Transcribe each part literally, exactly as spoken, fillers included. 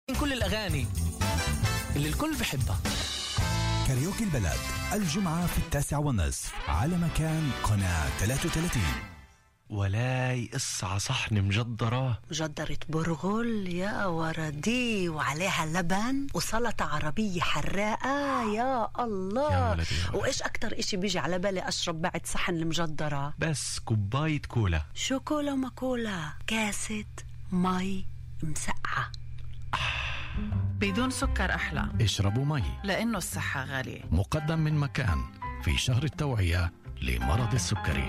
من كل الأغاني اللي الكل بحبها. كاريوكي البلد الجمعة في التاسع والنصف على مكان قناة ثلاثة وثلاثين. ولاي قصة صحن مجدرة مجدرة برغل يا وردي وعليها لبن وسلطة عربية حراقة يا الله يا ولدي يا ولدي. وإيش أكتر إشي بيجي على بالي أشرب بعد صحن المجدرة؟ بس كوباية كولا. شو كولا ما كولا؟ كاسة مي مسقعة بدون سكر أحلى. اشربوا مي لأنه الصحة غالية. مقدم من مكان في شهر التوعية لمرض السكري.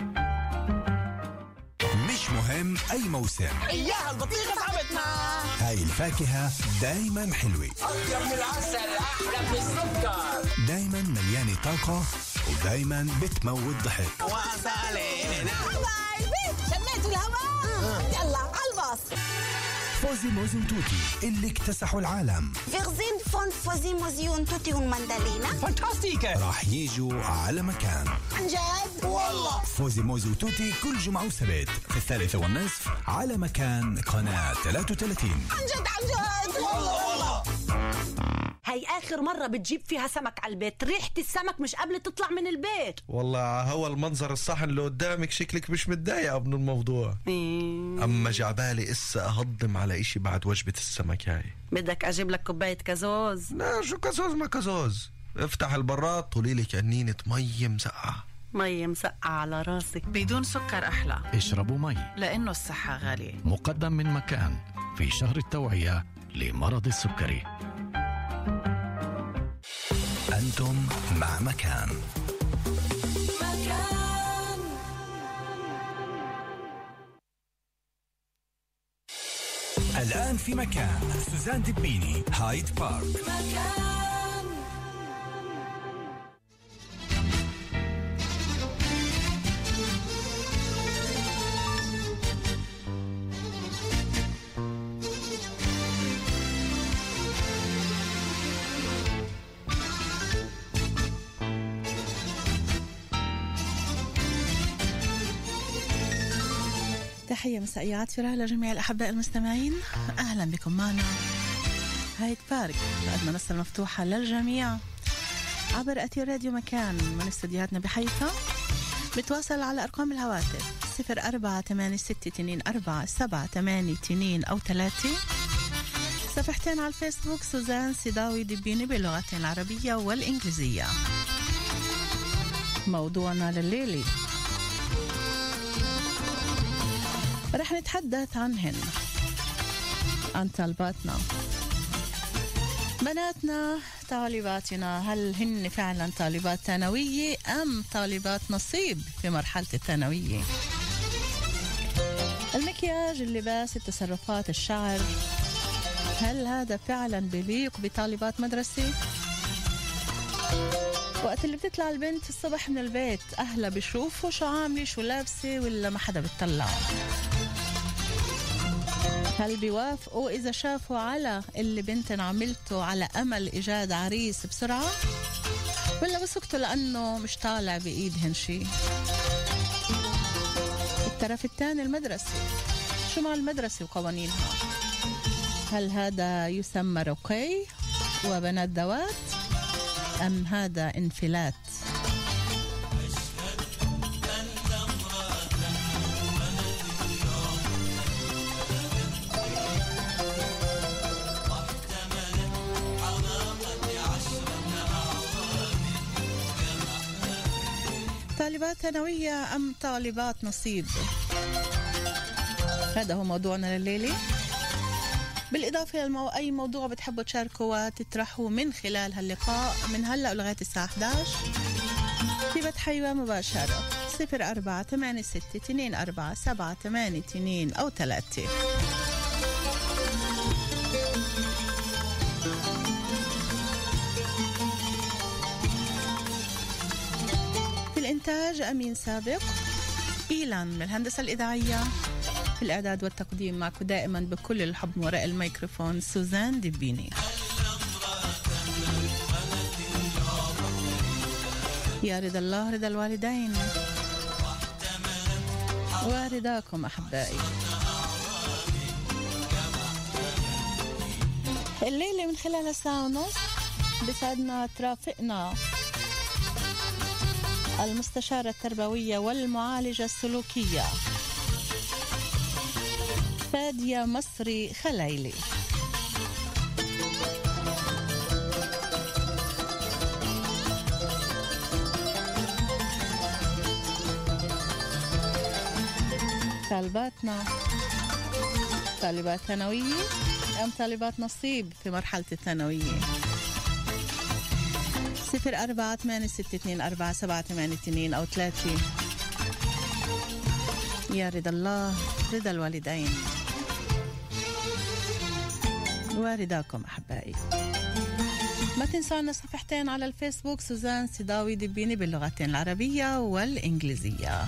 مش مهم أي موسم، إياها البطيخة صاحبتنا. هاي الفاكهة دايما حلوة، أطيب من العسل، أحلى من السكر، دايما مليانة طاقة ودايما بتموت ضحك. وصلينا حبايبي شميتوا الهواء. يلا عالباص. فوزي موزي توتي اللي اكتسحوا العالم فيغزين فون فوزي موزيون توتي والمندلينا فانتاستيكا راح يجوا على مكان. عن جد والله. فوزي موزي وتوتي كل جمعة وسبت في الثالثة والنصف على مكان قناة ثلاثة وثلاثين. عن جد عن جد والله والله. هاي آخر مرة بتجيب فيها سمك على البيت، ريحة السمك مش قبل تطلع من البيت. والله هو المنظر الصحن اللي قدامك شكلك مش متضايقة من الموضوع. مم. أما جعبالي إسا أهضم على إشي بعد وجبة السمك هاي. بدك أجيب لك كوباية كازوز؟ لا شو كازوز ما كازوز، افتح البراد طوليلي كأنينة مي مسقعة. مي مسقعة على راسك. بدون سكر أحلى. اشربوا مي لأنه الصحة غالية. مقدم من مكان في شهر التوعية لمرض السكري. أنتم مع مكان. مكان. الآن في مكان سوزان دبيني هايد بارك. مكان. تحية مسائية عاطفة لجميع الأحباء المستمعين. أهلا بكم معنا هايد بارك، بعد منصة مفتوحة للجميع عبر أثير راديو مكان من استديوهاتنا بحيفا. بتواصل على أرقام الهواتف صفر أربعة ثمانية ستة اثنين أربعة سبعة ثمانية اثنين أو ثلاثة. صفحتين على الفيسبوك سوزان سيداوي دبيني باللغتين العربية والإنجليزية. موضوعنا لليلي رح نتحدث عنهن، عن طالباتنا، بناتنا، طالباتنا. هل هن فعلا طالبات ثانوية أم طالبات نصيب في مرحلة الثانوية؟ المكياج، اللباس، التصرفات، الشعر، هل هذا فعلا بليق بطالبات مدرسة؟ وقت اللي بتطلع البنت الصبح من البيت أهلا بيشوفوا شو عاملة شو لابسة ولا ما حدا بتطلع؟ هل بيوافقوا إذا شافوا على اللي بنتن عملته على أمل إيجاد عريس بسرعة، ولا بسكتوا لأنه مش طالع بإيدهن شيء؟ الطرف الثاني المدرسة، شو مع المدرسة وقوانينها؟ هل هذا يسمى رقي وبنات دوات أم هذا انفلات؟ طالبات ثانوية أم طالبات نصيب؟ هذا هو موضوعنا لليلة، بالإضافة للمو... أي موضوع بتحبوا تشاركوا وتطرحوا من خلال هاللقاء من هلأ لغاية الساعة إحدى عشر في بث حيوة مباشرة صفر أربعة ثمانية ستة اثنين أربعة سبعة ثمانية اثنين أو ثلاثة. في الإنتاج أمين سابق، إيلان من الهندسة الإذاعية، في الإعداد والتقديم معكم دائما بكل الحب وراء الميكروفون سوزان دبيني. يا رضا الله رضا الوالدين ورضاكم أحبائي. الليلة من خلال الساعة ونص بسعدنا ترافقنا المستشارة التربوية والمعالجة السلوكية فادية مصري خليلي. طالباتنا طالبات ثانوية أم طالبات نصيب في مرحلة الثانوية؟ صفر أربعة ثمانية ستة اثنين أربعة سبعة ثمانية اثنين أو ثلاثة. يا رضا الله رضا الوالدين ورضاكم أحبائي. ما تنسونا صفحتين على الفيسبوك، سوزان سيداوي دبيني باللغتين العربية والإنجليزية.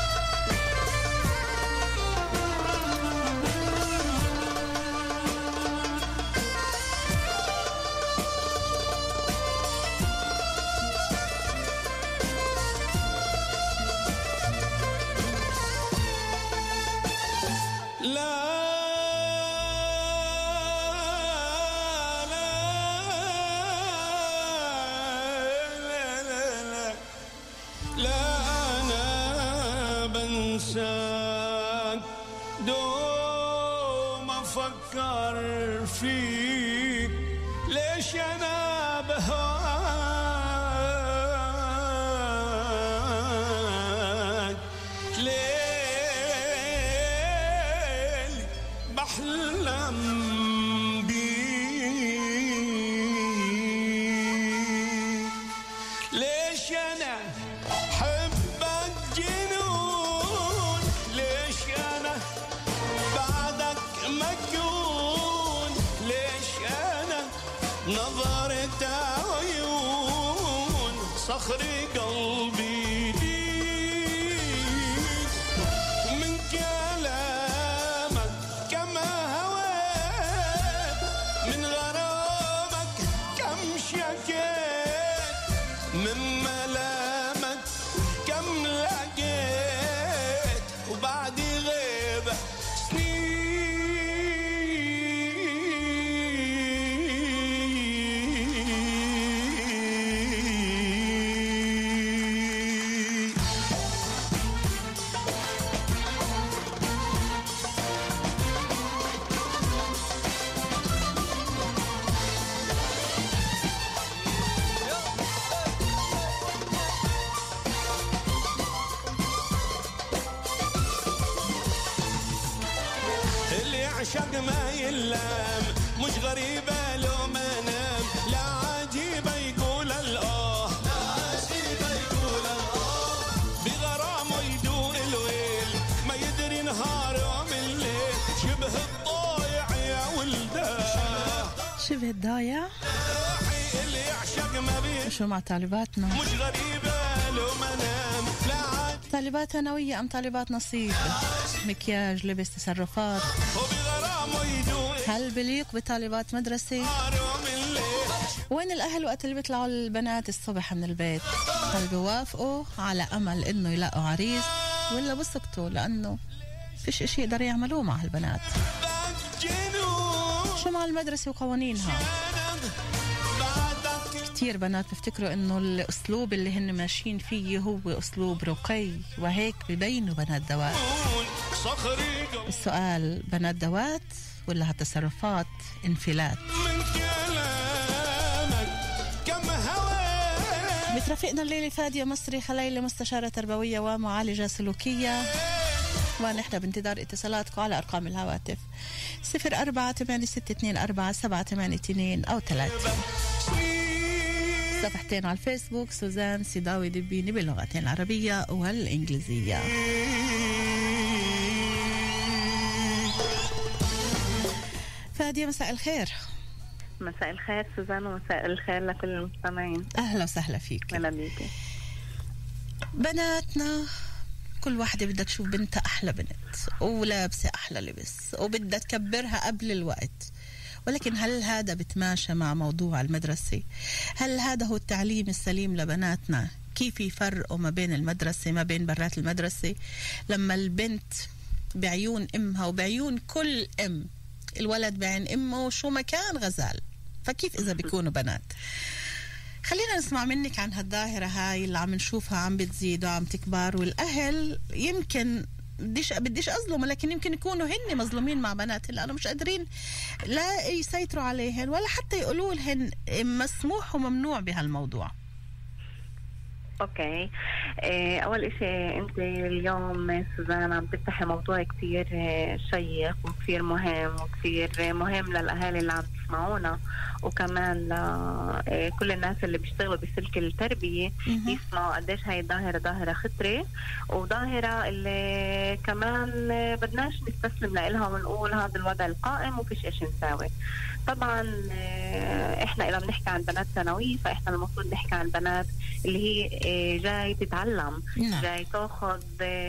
دوم أفكر فيك ليش أنا بهواك، ليل بحلم بيك، ليش أنا حبك جنون، ليش أنا بعدك مجنون، ليش أنا نظرت عيون صخري قلبي ليك، من كلامك كما هويت، من غرامك كم شكيت، من ملامك كم لقيت، وبعد غيبة عشق ما يلام، مش غريبة لو ما نام، لا عجيبة يقول الآه، لا عجيبة يقول الآه، بغرامه يدور الويل، ما يدري نهار ومن الليل، شبه الضايع يا ولده، شبه الضايع. اللي يعشق ما بيه شو مع طالباتنا؟ مش غريبة لو ما نام، لا طالبات ثانوية أم طالبات نصيب؟ مكياج، لبس، تصرفات، هل بليق بطالبات مدرسة؟ وين الأهل وقت اللي بيطلعوا البنات الصبح من البيت؟ هل بيوافقوا على أمل إنه يلاقوا عريس ولا بسكتوا لأنه فيش إشي يقدر يعملوه مع هالبنات؟ شو مع المدرسة وقوانينها؟ كتير بنات بفتكروا إنه الأسلوب اللي هن ماشيين فيه هو أسلوب رقي، وهيك ببينوا بنات دوات. السؤال، بنات دوات ولا هالتصرفات انفلات؟ بترافقنا الليلة فادية مصري خليلي، مستشارة تربوية ومعالجة سلوكية، ونحن بانتظار اتصالاتكم على أرقام الهواتف صفر أربعة ثمانية ستة اثنين أربعة سبعة ثمانية اثنين أو ثلاثة. صفحتين على الفيسبوك، سوزان سيداوي دبيني باللغتين العربية والإنجليزية. فادية مساء الخير. مساء الخير سوزان، ومساء الخير لكل المستمعين. أهلا وسهلا فيك. أهلا بيكي. بناتنا كل واحدة بدها تشوف بنتها أحلى بنت ولابسة أحلى لبس وبدها تكبرها قبل الوقت، ولكن هل هذا بتماشى مع موضوع المدرسة؟ هل هذا هو التعليم السليم لبناتنا؟ كيف يفرقوا ما بين المدرسة ما بين برات المدرسة؟ لما البنت بعيون أمها وبعيون كل أم الولد بعين امه شو ما كان غزال، فكيف اذا بيكونوا بنات؟ خلينا نسمع منك عن هالظاهرة هاي اللي عم نشوفها عم بتزيد وعم تكبر، والأهل يمكن بديش بديش أظلم، لكن يمكن يكونوا هن مظلومين مع بناتهم لأنه مش قادرين لا يسيطروا عليهن ولا حتى يقولوا لهن مسموح وممنوع بهالموضوع. اوكي، إيه اول اشي انت اليوم سوزان عم تفتحي موضوع كتير شيق وكتير مهم وكتير مهم للاهالي اللي عم تسمعونا، وكمان لكل الناس اللي بيشتغلوا بسلك التربية يسمعوا قديش هاي الظاهرة ظاهرة خطرة، وظاهرة اللي كمان بدناش نستسلم لإلها ونقول هذا الوضع القائم وفيش إيش نساوي. طبعا احنا اذا بنحكي عن بنات ثانوية فاحنا المفروض نحكي عن بنات اللي هي جاي تتعلم، جاي تاخذ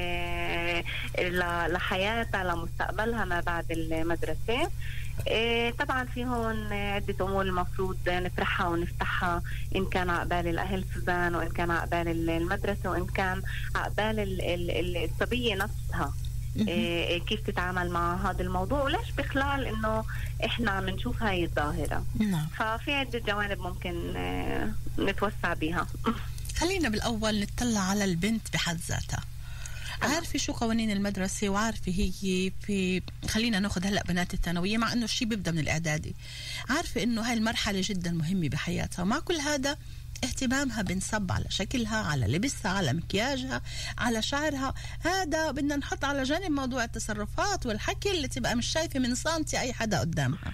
لحياتها لمستقبلها ما بعد المدرسة. طبعا في هون عدة أمور المفروض نطرحها ونفتحها، إن كان عقبال الأهل سوزان، وإن كان عقبال المدرسة، وإن كان عقبال الصبية نفسها. إيه كيف تتعامل مع هذا الموضوع، وليش بخلال انه احنا عم نشوف هاي الظاهرة. نعم. ففي عدة جوانب ممكن اه نتوسع بيها. خلينا بالاول نطلع على البنت بحد ذاتها. عارفة شو قوانين المدرسة، وعارفة هي في، خلينا ناخذ هلا بنات الثانوية مع انه الشيء بيبدا من الاعدادي، عارفة انه هاي المرحلة جدا مهمة بحياتها، ومع كل هذا اهتمامها بنصب على شكلها، على لبسها، على مكياجها، على شعرها. هذا بدنا نحط على جانب موضوع التصرفات والحكي اللي تبقى مش شايفة من سنتي أي حدا قدامها.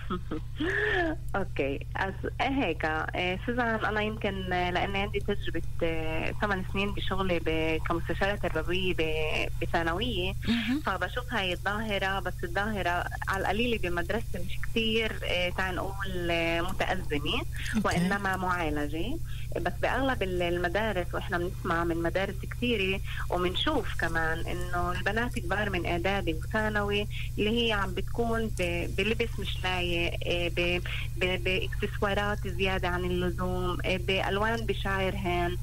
أوكي، هيك سوزان أنا يمكن لأن عندي تجربة ثمان سنين بشغلي كمستشارة تربوية بثانوية، فبشوف هاي الظاهرة، بس الظاهرة على القليل بمدرسة مش كتير تعال نقول متأزمة وإنما معالجة. بس بأغلب المدارس، وإحنا بنسمع من مدارس كثيرة ومنشوف كمان إنه البنات كبار من إعدادي وثانوي اللي هي عم بتكون بلبس مش لايق، بإكسسوارات زيادة عن اللزوم، بألوان بشعرهن،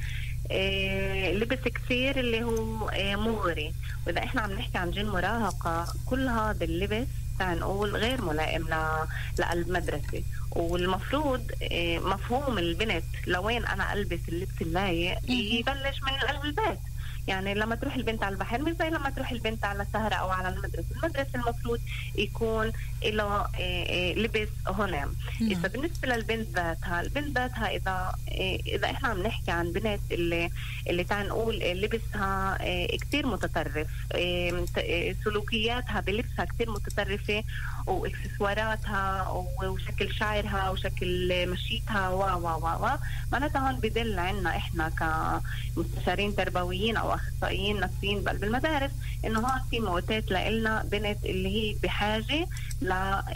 لبس كثير اللي هو مغري. وإذا إحنا عم نحكي عن جيل مراهقة، كل هذا اللبس نقول غير ملائم للمدرسة. والمفروض مفهوم البنت لوين أنا ألبس اللبس اللايق يبلش من البيت. يعني لما تروح البنت على البحر مش زي لما تروح البنت على سهرة أو على المدرسة. المدرسة المفروض يكون له لبس هنا. إذا بالنسبة للبنت ذاتها، البنت ذاتها إذا إذا إحنا عم نحكي عن بنت اللي اللي تعال نقول لبسها كتير متطرف، سلوكياتها بلبسها كتير متطرفة، وإكسسواراتها وشكل شعرها وشكل مشيتها و و و و معناتها هون بدل عنا إحنا كمستشارين تربويين أو أخصائيين نفسيين بقلب المدارس إنه هون في موتات لإلنا بنت اللي هي بحاجة ل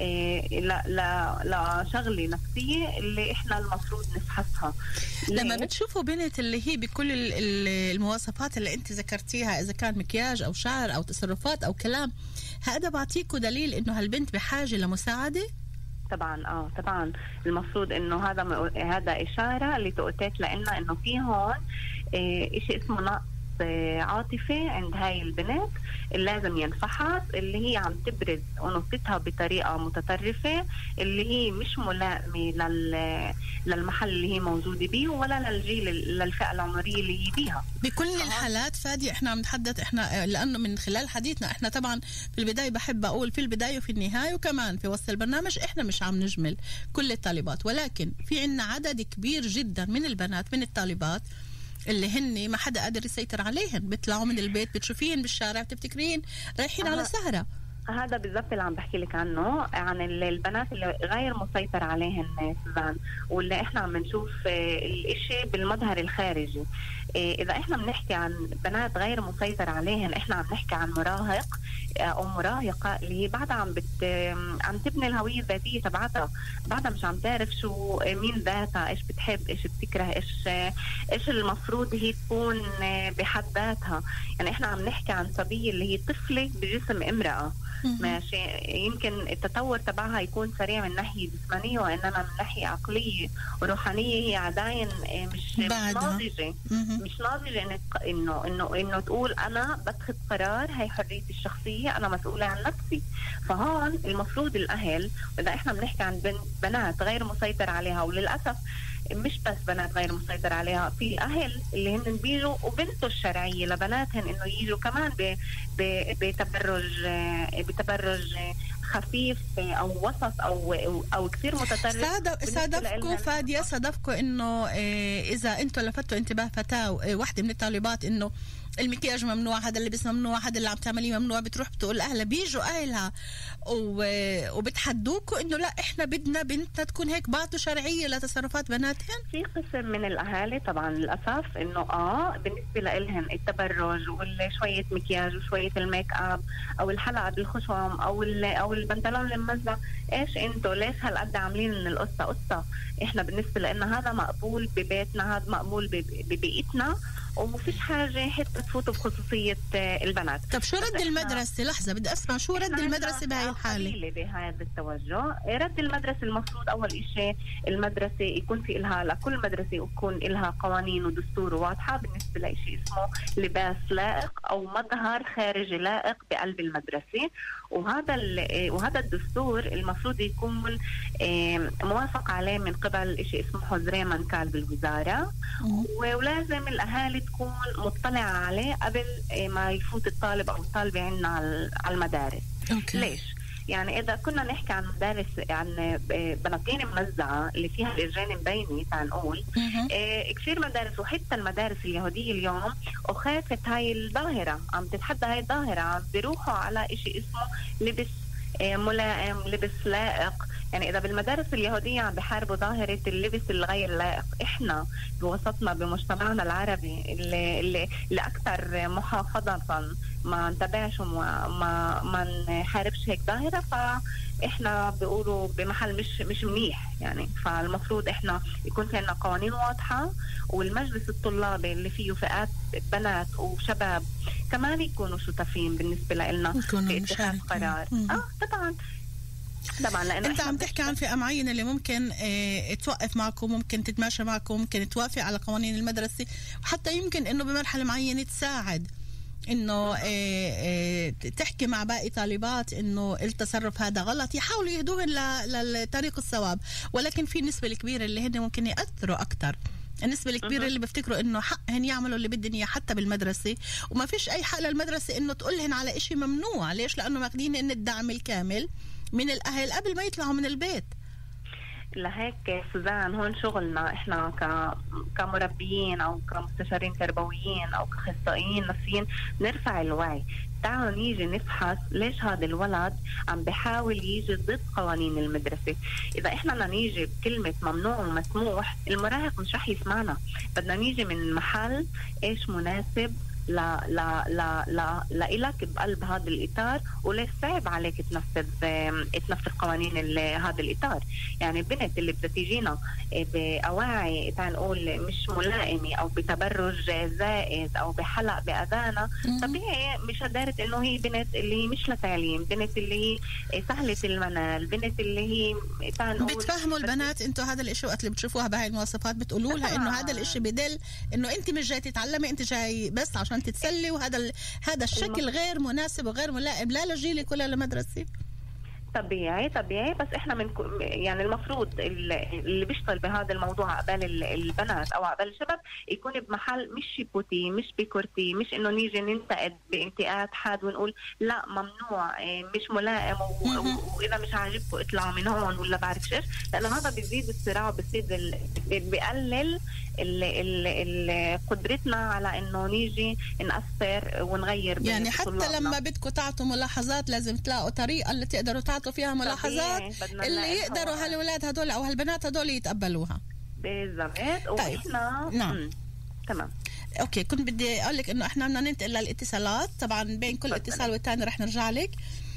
ل لشغلة نفسية اللي إحنا المفروض نفحصها. لما بتشوفوا بنت اللي هي بكل المواصفات اللي أنت ذكرتيها، إذا كان مكياج أو شعر أو تصرفات أو كلام، هذا بعطيكوا دليل إنه هالبنت بحاجة لمساعدة؟ طبعا اه طبعا المفروض انه هذا م... هذا اشاره اللي تؤتت لنا انه في هون إيه شيء اسمه نقص عاطفي عند هاي البنت اللي لازم ينفحص، اللي هي عم تبرز انوثتها بطريقه متطرفه اللي هي مش ملائمه لل... للمحل اللي هي موجوده بيه ولا للجيل للفئه العمريه اللي هي بيها. بكل الحالات فادي احنا عم نتحدث احنا لانه من خلال حديثنا احنا طبعا في البدايه بحب اقول في البدايه وفي النهايه وكمان في وسط البرنامج احنا مش عم نجمل كل الطالبات، ولكن في عنا عدد كبير جدا من البنات من الطالبات اللي هن ما حدا قادر يسيطر عليهن، بيطلعوا من البيت بتشوفين بالشارع بتفتكرين رايحين على سهرة. هذا بالضبط اللي عم بحكي لك عنه، عن البنات اللي غير مسيطر عليهن سوزان، واللي احنا عم نشوف الاشي بالمظهر الخارجي. اذا احنا بنحكي عن بنات غير مسيطر عليهن، احنا عم نحكي عن مراهق او مراهقه اللي هي بعدها عم بت عم تبني الهويه الذاتيه تبعتها، بعدها مش عم تعرف شو مين ذاتها، ايش بتحب، ايش بتكره، ايش ايش المفروض هي تكون بحد ذاتها. يعني احنا عم نحكي عن صبيه اللي هي طفله بجسم امراه ماشي، يمكن التطور تبعها يكون سريع من ناحية جسمانية، وإنما من ناحية عقلية وروحانية هي عداين مش ناضجة مش ناضجة انك انه انه انه تقول انا بتخذ قرار، هي حريتي الشخصية، انا مسؤولة عن نفسي. فهون المفروض الاهل، واذا احنا بنحكي عن بنات غير مسيطر عليها، وللاسف مش بس بنات غير مسيطر عليها، في اهل اللي هن بيجوا وبنته الشرعيه لبناتهن انه يجوا كمان ب بتبرج بتبرج خفيف او وسط او او كثير متطرف. صادفكم فاديه صادفكم انه اذا انتم لفتوا انتباه فتاه واحده من الطالبات انه المكياج ممنوع، هذا اللبس ممنوع، هذا اللي عم تعمليه ممنوع، بتروح بتقول اهلها، بيجوا اهلها وبتحدوكوا انه لا احنا بدنا بنتنا تكون هيك، بعطوا شرعيه لتصرفات بناتهم؟ في قسم من الاهالي طبعا للاسف انه اه بالنسبه لهم التبرج وشويه مكياج وشويه الميك اب او الحلقه بالخشم او او البنطلون الممزع، ايش انتوا ليش هالقد عاملين من القصه قصه؟ احنا بالنسبه لنا هذا مقبول ببيتنا، هذا مقبول ببيئتنا، ومفيش حاجة حتى تفوتوا بخصوصية البنات. طب شو رد المدرسة؟ لحظة بدي أسمع شو رد المدرسة بهاي الحالة؟ بهذا التوجه رد المدرسة المفروض أول إشي المدرسة يكون في إلها، لكل مدرسة يكون إلها قوانين ودستور واضحة بالنسبة لإشي اسمه لباس لائق أو مظهر خارجي لائق بقلب المدرسة، وهذا وهذا الدستور المفروض يكون موافق عليه من قبل إشي اسمه حزرين منكال بالوزارة، ولازم الأهالي تكون مطلعة عليه قبل ما يفوت الطالب أو الطالبة عندنا على المدارس. أوكي. ليش؟ يعني إذا كنا نحكي عن مدارس عن بناطيل موزعة اللي فيها الإرجان مبينة تعال نقول إيه كثير مدارس وحتى المدارس اليهودية اليوم وخافت هاي الظاهرة، عم تتحدى هاي الظاهرة، عم بيروحوا على إشي اسمه لبس إيه ملائم، لبس لائق. يعني إذا بالمدارس اليهودية عم بحاربوا ظاهرة اللبس الغير لائق، إحنا بوسطنا بمجتمعنا العربي اللي, اللي, اللي أكثر محافظة ما نتبعش وما ما, ما نحاربش هيك ظاهرة، فإحنا بيقولوا بمحل مش مش منيح. يعني فالمفروض إحنا يكون في عنا قوانين واضحة، والمجلس الطلابي اللي فيه فئات بنات وشباب كمان يكونوا شتافين بالنسبة لنا في اتخاذ قرار. آه طبعا طبعا لأنه انت عم تحكي عن فئة معينة اللي ممكن اه توقف معكم، ممكن تتماشى معكم، ممكن توافق على قوانين المدرسة، وحتى يمكن انه بمرحلة معينة تساعد انه اه اه تحكي مع باقي طالبات انه التصرف هذا غلط، يحاولوا يهدوهن لطريق الصواب. ولكن في النسبة الكبيرة اللي هن ممكن يأثروا اكتر، النسبة الكبيرة اللي بيفتكروا انه حقهن يعملوا اللي بدهن اياه حتى بالمدرسة، وما فيش اي حق للمدرسة انه تقولهن على اشي ممنوع. ليش؟ لانه ماخدين ان الدعم الكامل من الأهل قبل ما يطلعوا من البيت. لهيك سوزان هون شغلنا احنا ك... كمربيين او كمستشارين تربويين او كاخصائيين نفسيين نرفع الوعي. تعالوا نيجي نفحص ليش هذا الولد عم بحاول يجي ضد قوانين المدرسة. إذا إحنا بدنا نيجي بكلمة ممنوع ومسموح المراهق مش رح يسمعنا، بدنا نيجي من محل إيش مناسب لا لا لا لا لإلك بقلب هذا الإطار، وليش صعب عليك تنفذ تنفذ قوانين هذا الإطار. يعني البنت اللي بدها تيجينا بأواعي تعال نقول مش ملائمة أو بتبرج زائد أو بحلق بأذانة، طبيعي مش قدرت إنه هي بنت اللي هي مش لتعليم، بنت اللي هي سهلة المنال، بنت اللي هي تعال نقول بتفهموا البنات انتوا هذا الإشي وقت اللي بتشوفوها بهاي المواصفات بتقولوا لها إنه هذا الإشي بدل إنه أنت مش جاي تتعلمي، أنت جاي بس عشان تتسلي، وهذا ال... هذا الشكل غير مناسب وغير ملائم لا لجيلك ولا لمدرسة. طبيعي طبيعي بس احنا من يعني المفروض اللي بيشتغل بهذا الموضوع عقبال البنات او عقبال الشباب يكون بمحل مش شيبوتي مش بكورتي، مش انه نيجي ننتقد بانتقاد حاد ونقول لا ممنوع مش ملائم واذا مش عاجبكم اطلعوا من هون ولا بعرف ايش، لانه هذا بيزيد الصراع وبيزيد ال... بيقلل ال... ال... ال... قدرتنا على انه نيجي نأثر ونغير. يعني حتى طلابنا. لما بدكم تعطوا ملاحظات لازم تلاقوا طريقة اللي تقدروا تعطوا فيها ملاحظات اللي يقدروا هالولاد هدول او هالبنات هدول يتقبلوها. بالضبط. طيب. واحنا نعم تمام. اوكي كنت بدي اقول لك انه احنا بدنا ننتقل للاتصالات، طبعا بين كل اتصال والتاني رح نرجع لك.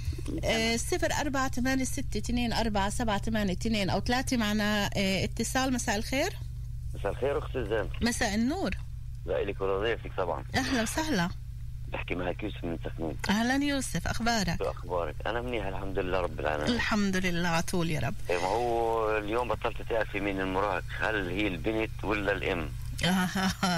صفر أربعة ثمانية ستة اثنين أربعة سبعة ثمانية اثنين أو ثلاثة. معنا اه اتصال. مساء الخير. مساء الخير أختي زين. مساء النور. لك وضيفك طبعا. أهلا وسهلا. بحكي معك يوسف من سخنين. أهلا يوسف، أخبارك؟ شو أخبارك؟ أنا منيح الحمد لله رب العالمين. الحمد لله عطول يا رب. ما هو اليوم بطلت تعرفي مين المراهق، هل هي البنت ولا الأم؟ آه آه آه.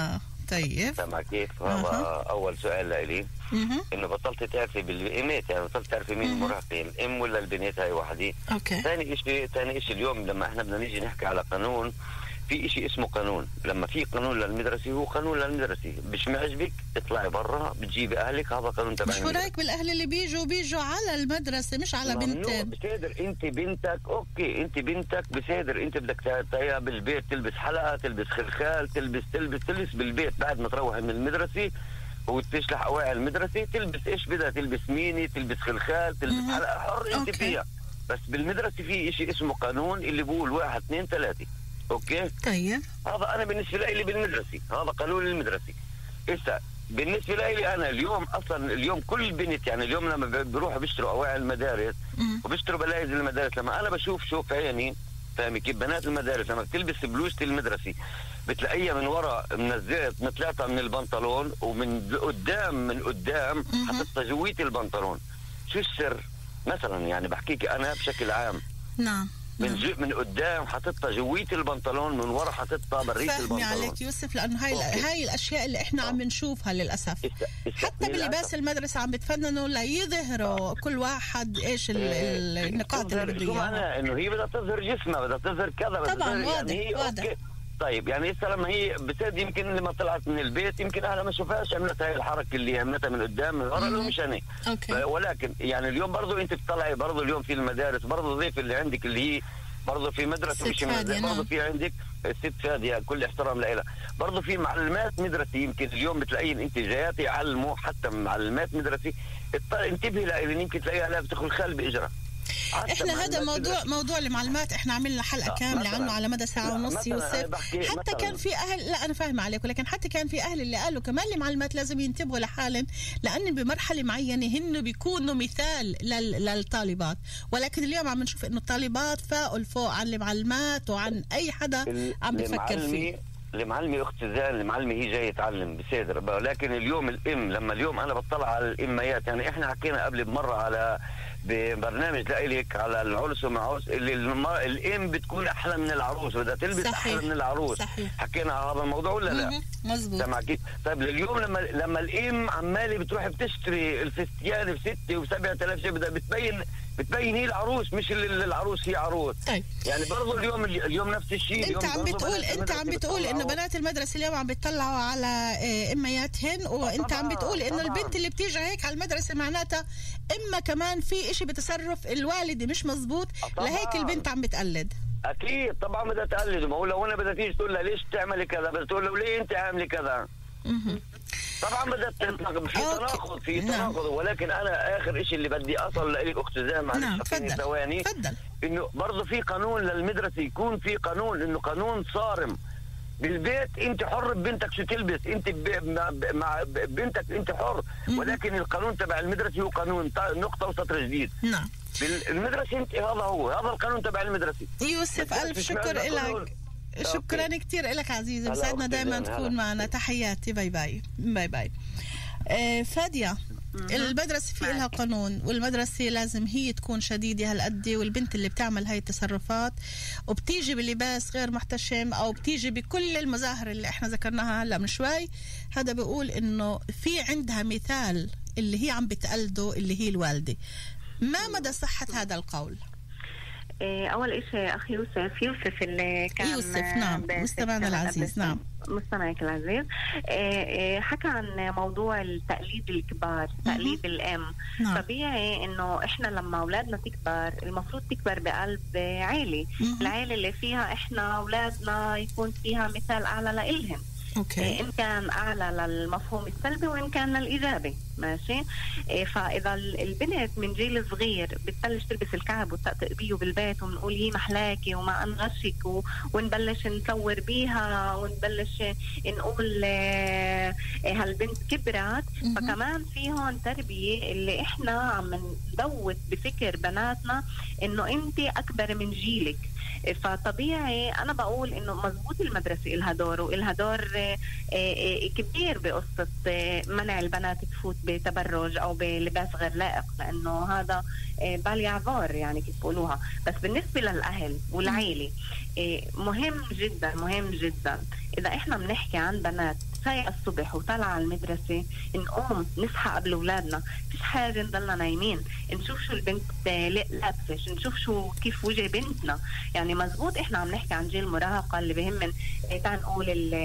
طيب سامع كيف؟ هذا أها. اول سؤال لإلي. مهم. انه بطلت تعرفي بالامات، يعني بطلت تعرفي مين مهم. المراهقين، الام ولا البنات، هاي وحدي. اوكي ثاني شيء ثاني شيء اليوم لما احنا بدنا نيجي نحكي على قانون، في شيء اسمه قانون. لما في قانون للمدرسه هو قانون للمدرسه، مش معجبك اطلعي برا بتجيبي اهلك، هذا قانون تبع مش ورايك بالاهل اللي بيجوا بيجوا على المدرسه مش على بنتين. بصدر انت بنتك اوكي، انت بنتك بصدر انت بدك تعطيها بالبيت تلبس حلقه، تلبس خلخال، تلبس تلبس تلبس بالبيت بعد ما تروح من المدرسه وتشلح اواعي المدرسه، تلبس ايش بدها، تلبس ميني، تلبس خلخال، تلبس مهم. حلقه، حر انت أوكي. فيها. بس بالمدرسه في شيء اسمه قانون اللي بقول واحد اثنين ثلاثه. اوكي طيب هذا انا بالنسبه لي بالمدرسه، هذا قانون المدرسه. إسا بالنسبه لي انا اليوم اصلا اليوم كل بنت، يعني اليوم لما بيروحوا بيشتروا اواعي المدارس مم. وبيشتروا بلايز المدارس، لما انا بشوف شوف عيني فاهمي كيف بنات المدارس لما بتلبس بلوزة المدرسه بتلاقيها من وراء منزلت متلاقه من البنطلون، ومن قدام من قدام حطتها جوية البنطلون. شو السر؟ مثلا يعني بحكيك انا بشكل عام، نعم من جو من قدام حطتها جوية البنطلون، من ورا حطتها برية فهمي البنطلون. عليك يوسف، لانه هاي أوكي. هاي الاشياء اللي احنا عم نشوفها للاسف. إسا- إسا- حتى بلباس للأسف. المدرسه عم بتفننوا ليظهروا كل واحد ايش ال- ال- النقاط اللي بده شو اياها. معناها؟ انه هي بدها تظهر جسمها، بدها تظهر كذا، بدها طبعاً، تظهر واضح، يعني هي واضح. أوكي. طيب يعني هسه لما هي بتد يمكن لما طلعت من البيت يمكن اهلها ما شافهاش، عملت هاي الحركه اللي عملتها من قدام من ورا، لو مش انا. اوكي ولكن يعني اليوم برضه انت بتطلعي برضه اليوم في المدارس برضه ضيف اللي عندك اللي هي برضه في مدرسه ست مش فادية، مدرسة، نعم. برضه في عندك الست فادية، كل احترام لها. برضه في معلمات مدرسه يمكن اليوم بتلاقين انت جايات يعلموا حتى معلمات مدرسه، اط- انتبهي لها يمكن تلاقيها لابسه خلخال باجرها. احنا هذا موضوع موضوع المعلومات احنا عملنا حلقه لا، كامله مثلاً. عنه على مدى ساعه لا، ونص مثلاً أنا يوسف. بحكي حتى مثلاً. كان في اهل، لا انا فاهمه عليك، ولكن حتى كان في اهل اللي قالوا كمان المعلمات لازم ينتبهوا لحالهم، لان بمرحله معينه هن بيكونوا مثال لل- للطالبات، ولكن اليوم عم نشوف انه الطالبات فاقوا الفوق عن المعلمات وعن اي حدا عم بفكر فيه. المعلمة اخت زان، المعلمة هي جايه تعلم بصدر، لكن اليوم الام لما اليوم انا بطلع على الاميات، يعني احنا حكينا قبل بمره على ببرنامج لإلك على العرس ومعوس اللي الم... الام بتكون احلى من العروس، بدها تلبس صحيح. احلى من العروس. صحيح. حكينا على هذا الموضوع ولا لا؟ مهم. مزبوط. سمع كيف؟ طيب اليوم لما لما الام عماله بتروح بتشتري الفستيان بستة وسبعة آلاف شيء، بدها بتبين بتبين هي العروس، مش ال- العروس هي عروس. طيب يعني برضه اليوم اليوم نفس الشيء. انت عم بتقول انت عم بتقول انه بنات المدرسه اليوم عم بيطلعوا على اه، امياتهن، وانت عم بتقول انه البنت اللي بتيجي هيك على المدرسه معناتها اما كمان في اشي بتصرف الوالده مش مزبوط، لهيك البنت عم بتقلد. اكيد طبعا بدها تقلد، ما هو لو انا بدها تيجي تقول لها ليش تعملي كذا، بدها تقول له ليه انت عاملي كذا. طبعا بدها تناقض، في تناقض في نعم. تناقض، ولكن انا اخر شيء اللي بدي اصل لك اخت زين معلش نعم خليني تفضل ثواني، تفضل. انه برضه في قانون للمدرسه، يكون في قانون انه قانون صارم. بالبيت انت حر ببنتك شو تلبس، انت ب... مع... مع بنتك انت حر، ولكن القانون تبع المدرسه هو قانون نقطه وسطر جديد. نعم بالمدرسه انت هذا هو هذا القانون تبع المدرسه. يوسف الف شكر لك، شكرا كثير لك عزيزي، بسعدنا دائما تكون معنا. تحياتي، باي باي باي باي. آه فادية، المدرسة في لها قانون، والمدرسة لازم هي تكون شديدة هالقد، والبنت اللي بتعمل هاي التصرفات وبتيجي بلباس غير محتشم او بتيجي بكل المظاهر اللي احنا ذكرناها هلا من شوي، هذا بيقول انه في عندها مثال اللي هي عم بتقلده اللي هي الوالدة. ما مدى صحة هذا القول؟ أول إشي أخي يوسف يوسف اللي كان يوسف نعم مستمعنا العزيز، نعم مستمعك العزيز، حكى عن موضوع التقليد الكبار، تقليد الأم. نعم. طبيعي إنه إحنا لما أولادنا تكبر المفروض تكبر بقلب عائلة، العائلة اللي فيها إحنا أولادنا يكون فيها مثال أعلى لإلهم. أوكي. إن كان أعلى للمفهوم السلبي وإن كان للإيجابي، ماشي. فإذا البنت من جيل صغير بتبلش تلبس الكعب وتطقطق بيه بالبيت ونقول هي محلاكي وما أنغشك و... ونبلش نصور بيها ونبلش نقول هالبنت كبرت، فكمان في هون تربية اللي إحنا عم ندوت بفكر بناتنا إنه أنت أكبر من جيلك. فطبيعي أنا بقول إنه مزبوط المدرسة إلها دور وإلها دور كبير بقصة منع البنات تفوت بتبرج أو بلباس غير لائق، لأنه هذا بالي عذار يعني كيف بقولوها. بس بالنسبة للأهل والعائلة مهم جدا مهم جدا إذا إحنا بنحكي عن بنات وسايقة الصبح وطالعة على المدرسة، نقوم نصحى قبل أولادنا، فيش حاجة نضلنا نايمين، نشوف شو البنت لابسة، نشوف شو كيف وجه بنتنا. يعني مزبوط إحنا عم نحكي عن جيل المراهقة اللي بهمن تعال نقول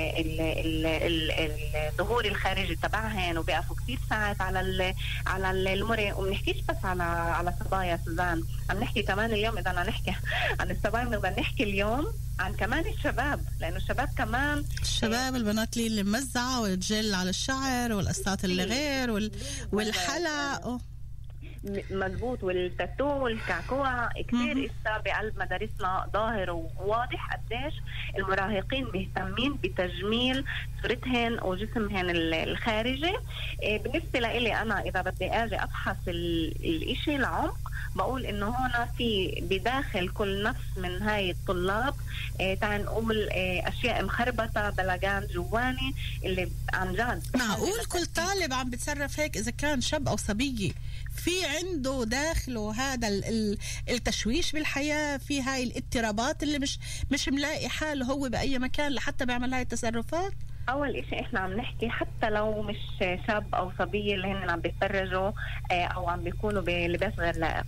الظهور الخارجي تبعهن، وبيقفوا كتير ساعات على على المرة. ومنحكيش بس على على صبايا سوزان، عم نحكي كمان اليوم إذا بدنا نحكي عن الصبايا بدنا نحكي اليوم عن كمان الشباب، لأنه الشباب كمان الشباب البنات اللي ممزعة والجل على الشعر والقصات اللي غير وال... والحلق مزبوط، والتاتو والكعكوع كتير إسا بقلب مدارسنا ظاهر وواضح قديش المراهقين مهتمين بتجميل صورتهن وجسمهن الخارجي. بالنسبة لإلي أنا إذا بدي أجي أبحث الإشي العمق، بقول إنه هنا في بداخل كل نفس من هاي الطلاب اه تعال نقول اه أشياء مخربطة بلغان جواني اللي عن جد. معقول كل طالب عم بتصرف هيك إذا كان شاب أو صبية في عنده داخله هذا التشويش بالحياة، في هاي الاضطرابات اللي مش مش ملاقي حاله هو بأي مكان لحتى بيعمل هاي التصرفات؟ أول إشي إحنا عم نحكي حتى لو مش شاب أو صبية اللي هن عم بيتفرجوا أو عم بيكونوا بلباس غير لائق،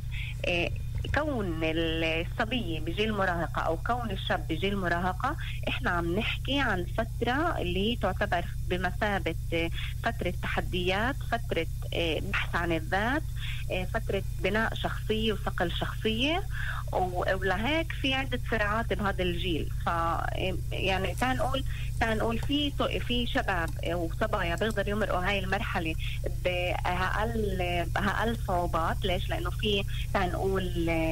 كون الصبية بجيل مراهقة أو كون الشاب بجيل مراهقة، إحنا عم نحكي عن فترة اللي تعتبر بمثابة فترة تحديات، فترة بحث عن الذات، فترة بناء شخصية وصقل شخصية. ولهيك في عدة صراعات بهذا الجيل. ف يعني تنقول تنقول في في شباب وصبايا بيقدروا يمرقوا هاي المرحلة بأقل بأقل صعوبات. ليش؟ لأنه في تنقول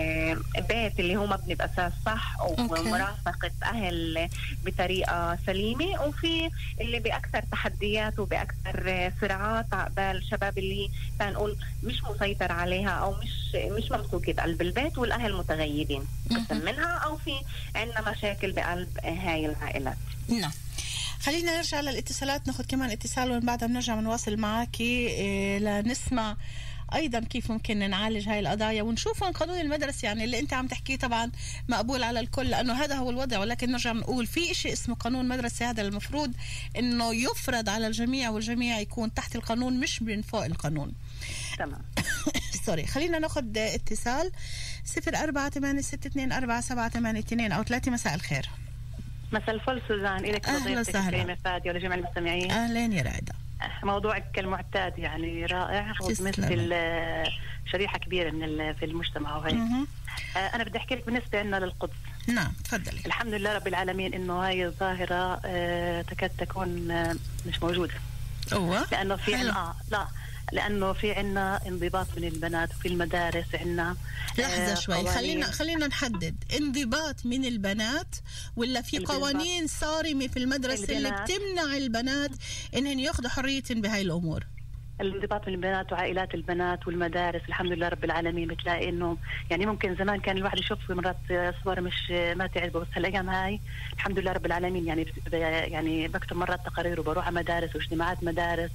بيت اللي هو مبني بأساس صح ومرافقة أهل بطريقة سليمة، وفي اللي بأكثر تحديات وبأكثر صراعات عقبال الشباب اللي تنقول مش مسيطر عليها أو مش مش ممسوكة بقلب البيت والأهل متغيبين منها، أو في عندنا مشاكل بقلب هاي العائلات. نعم. خلينا نرجع للاتصالات، ناخد كمان اتصال ومن بعدها بنرجع بنواصل معاكي إيه لنسمع ايضا كيف ممكن نعالج هاي القضايا ونشوف عن قانون المدرسة. يعني اللي انت عم تحكيه طبعا مقبول على الكل لانه هذا هو الوضع، ولكن نرجع نقول في شيء اسمه قانون مدرسة، هذا المفروض انه يفرض على الجميع والجميع يكون تحت القانون مش من فوق القانون. تمام. سوري. خلينا ناخد اتصال صفر أربعة ثمانية ستة اثنين أربعة سبعة ثمانية اثنين أو ثلاثة. مساء الخير. مساء الفل سوزان، إليك وضيفتك الكريمة فادية ولجميع المستمعين. أهلين يا رائدة. موضوعك كالمعتاد يعني رائع وتمثل شريحة كبيرة من في المجتمع وهيك. أنا بدي أحكي لك بالنسبة لنا للقدس. نعم تفضلي. الحمد لله رب العالمين إنه هاي الظاهرة تكاد تكون مش موجودة. أوه. لأنه في عنا آه لا لأنه في عنا انضباط من البنات وفي المدارس عنا. لحظة شوي، خلينا خلينا نحدد انضباط من البنات ولا في قوانين صارمة في المدرسة اللي بتمنع البنات إنهن ياخذوا حريتهم بهاي الأمور؟ الانضباط من البنات وعائلات البنات والمدارس الحمد لله رب العالمين. بتلاقي انه يعني ممكن زمان كان الواحد يشوف مرات صور مش ما تعجبه، بس هالايام هاي الحمد لله رب العالمين يعني يعني بكتب مرات تقارير وبروح على مدارس واجتماعات مدارس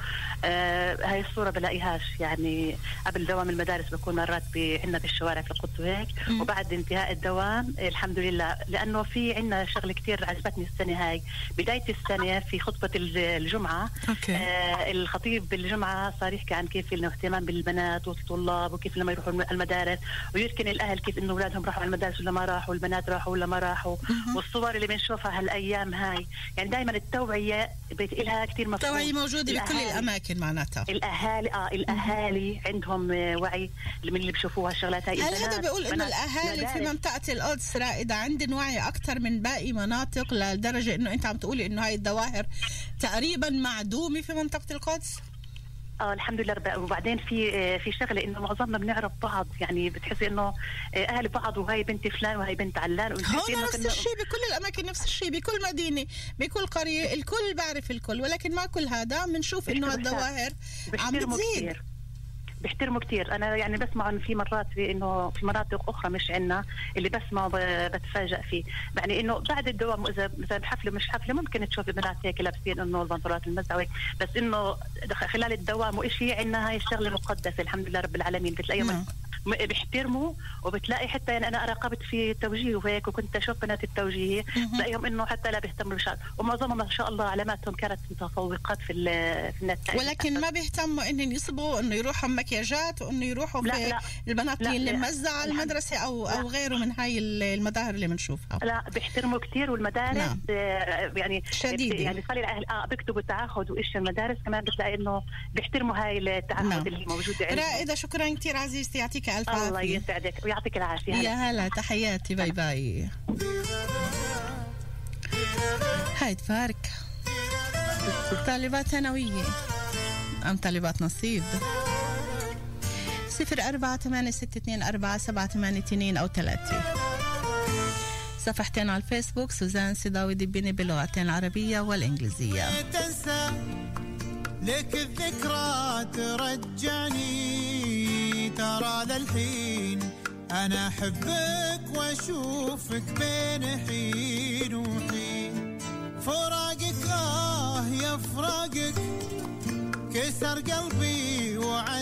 وهاي آه الصوره بلاقيهاش. يعني قبل دوام المدارس بكون مرات عندنا في الشوارع في القدس وهيك، وبعد انتهاء الدوام الحمد لله. لانه في عندنا شغله كتير عجبتني السنه هاي، بدايه السنه في خطبه الجمعه آه الخطيب الجمعة صار يحكي عن كيف الاهتمام بالبنات والطلاب وكيف لما يروحوا المدارس، ويركن الأهل كيف إنه أولادهم راحوا على المدارس ولا ما راحوا، والبنات راحوا ولا ما راحوا. والصور اللي بنشوفها هالأيام هاي يعني دائما التوعية لها كتير مفهوم. التوعية موجودة بكل الأماكن معناتها. الأهالي آه الأهالي عندهم وعي من اللي بيشوفوها الشغلات هاي. هل هذا بيقول إنه الأهالي في منطقة القدس رائدة عندهم وعي أكثر من باقي مناطق لدرجة إنه أنت عم تقولي إنه هاي الظواهر تقريبا معدومة في منطقة القدس؟ اه الحمد لله رب. وبعدين في في شغله انه معظمنا بنعرف بعض، يعني بتحسي انه اهل بعض وهي بنت فلان وهي بنت علان. هون نفس الشيء بكل الاماكن، نفس الشيء بكل مدينه بكل قريه، الكل بعرف الكل، ولكن مع كل هذا بنشوف انه الظواهر عم بتزيد. بيحترموا كتير. انا يعني بسمع انه في مرات في انه في مناطق اخرى مش عنا اللي بسمع بتفاجئ فيه، يعني انه بعد الدوام اذا مثلا بحفله مش حفله ممكن تشوف بنات هيك لابسين انه البنطلونات المزعوه، بس انه خلال الدوام وإشي عنا هاي الشغله مقدسه الحمد لله رب العالمين. بتلاقيهم بيحترموا، وبتلاقي حتى يعني انا راقبت في التوجيه وهيك وكنت اشوف بنات التوجيه بلاقيهم انه حتى لا بيهتموا بالشعر، ومعظمهم ما شاء الله علاماتهم كانت متفوقات في في النتائج، ولكن ما بيهتموا انهم يصبوا انه يروحوا مكياجات وانه يروحوا لا في لا البنات لا اللي لا ممزعه على المدرسه او لا او غيره من هاي المظاهر اللي بنشوفها. لا بيحترموا كثير، والمدارس نعم. يعني شديدة. يعني خلي الاهل اه بيكتبوا تعهد وايش المدارس كمان بتلاقي انه بيحترموا هاي التعهد نعم. اللي موجوده عندهم. رائده، شكرا كثير عزيزتي، يعطيك الف عافيه. الله يسعدك ويعطيك العافيه. يا هلا، تحياتي، باي باي. هاي تفارك طالبات ثانويه ام طالبات نصيب؟ صفر أربعة ثمانية ستة اثنين أربعة سبعة ثمانية اثنين أو ثلاثة. صفحتين على الفيسبوك سوزان سيداوي دبيني باللغتين العربية والإنجليزية. تنسى لك الذكرى ترجعني، ترى للحين أنا أحبك وأشوفك بين حين وحين. فراقك آه يا فراقك كسر قلبي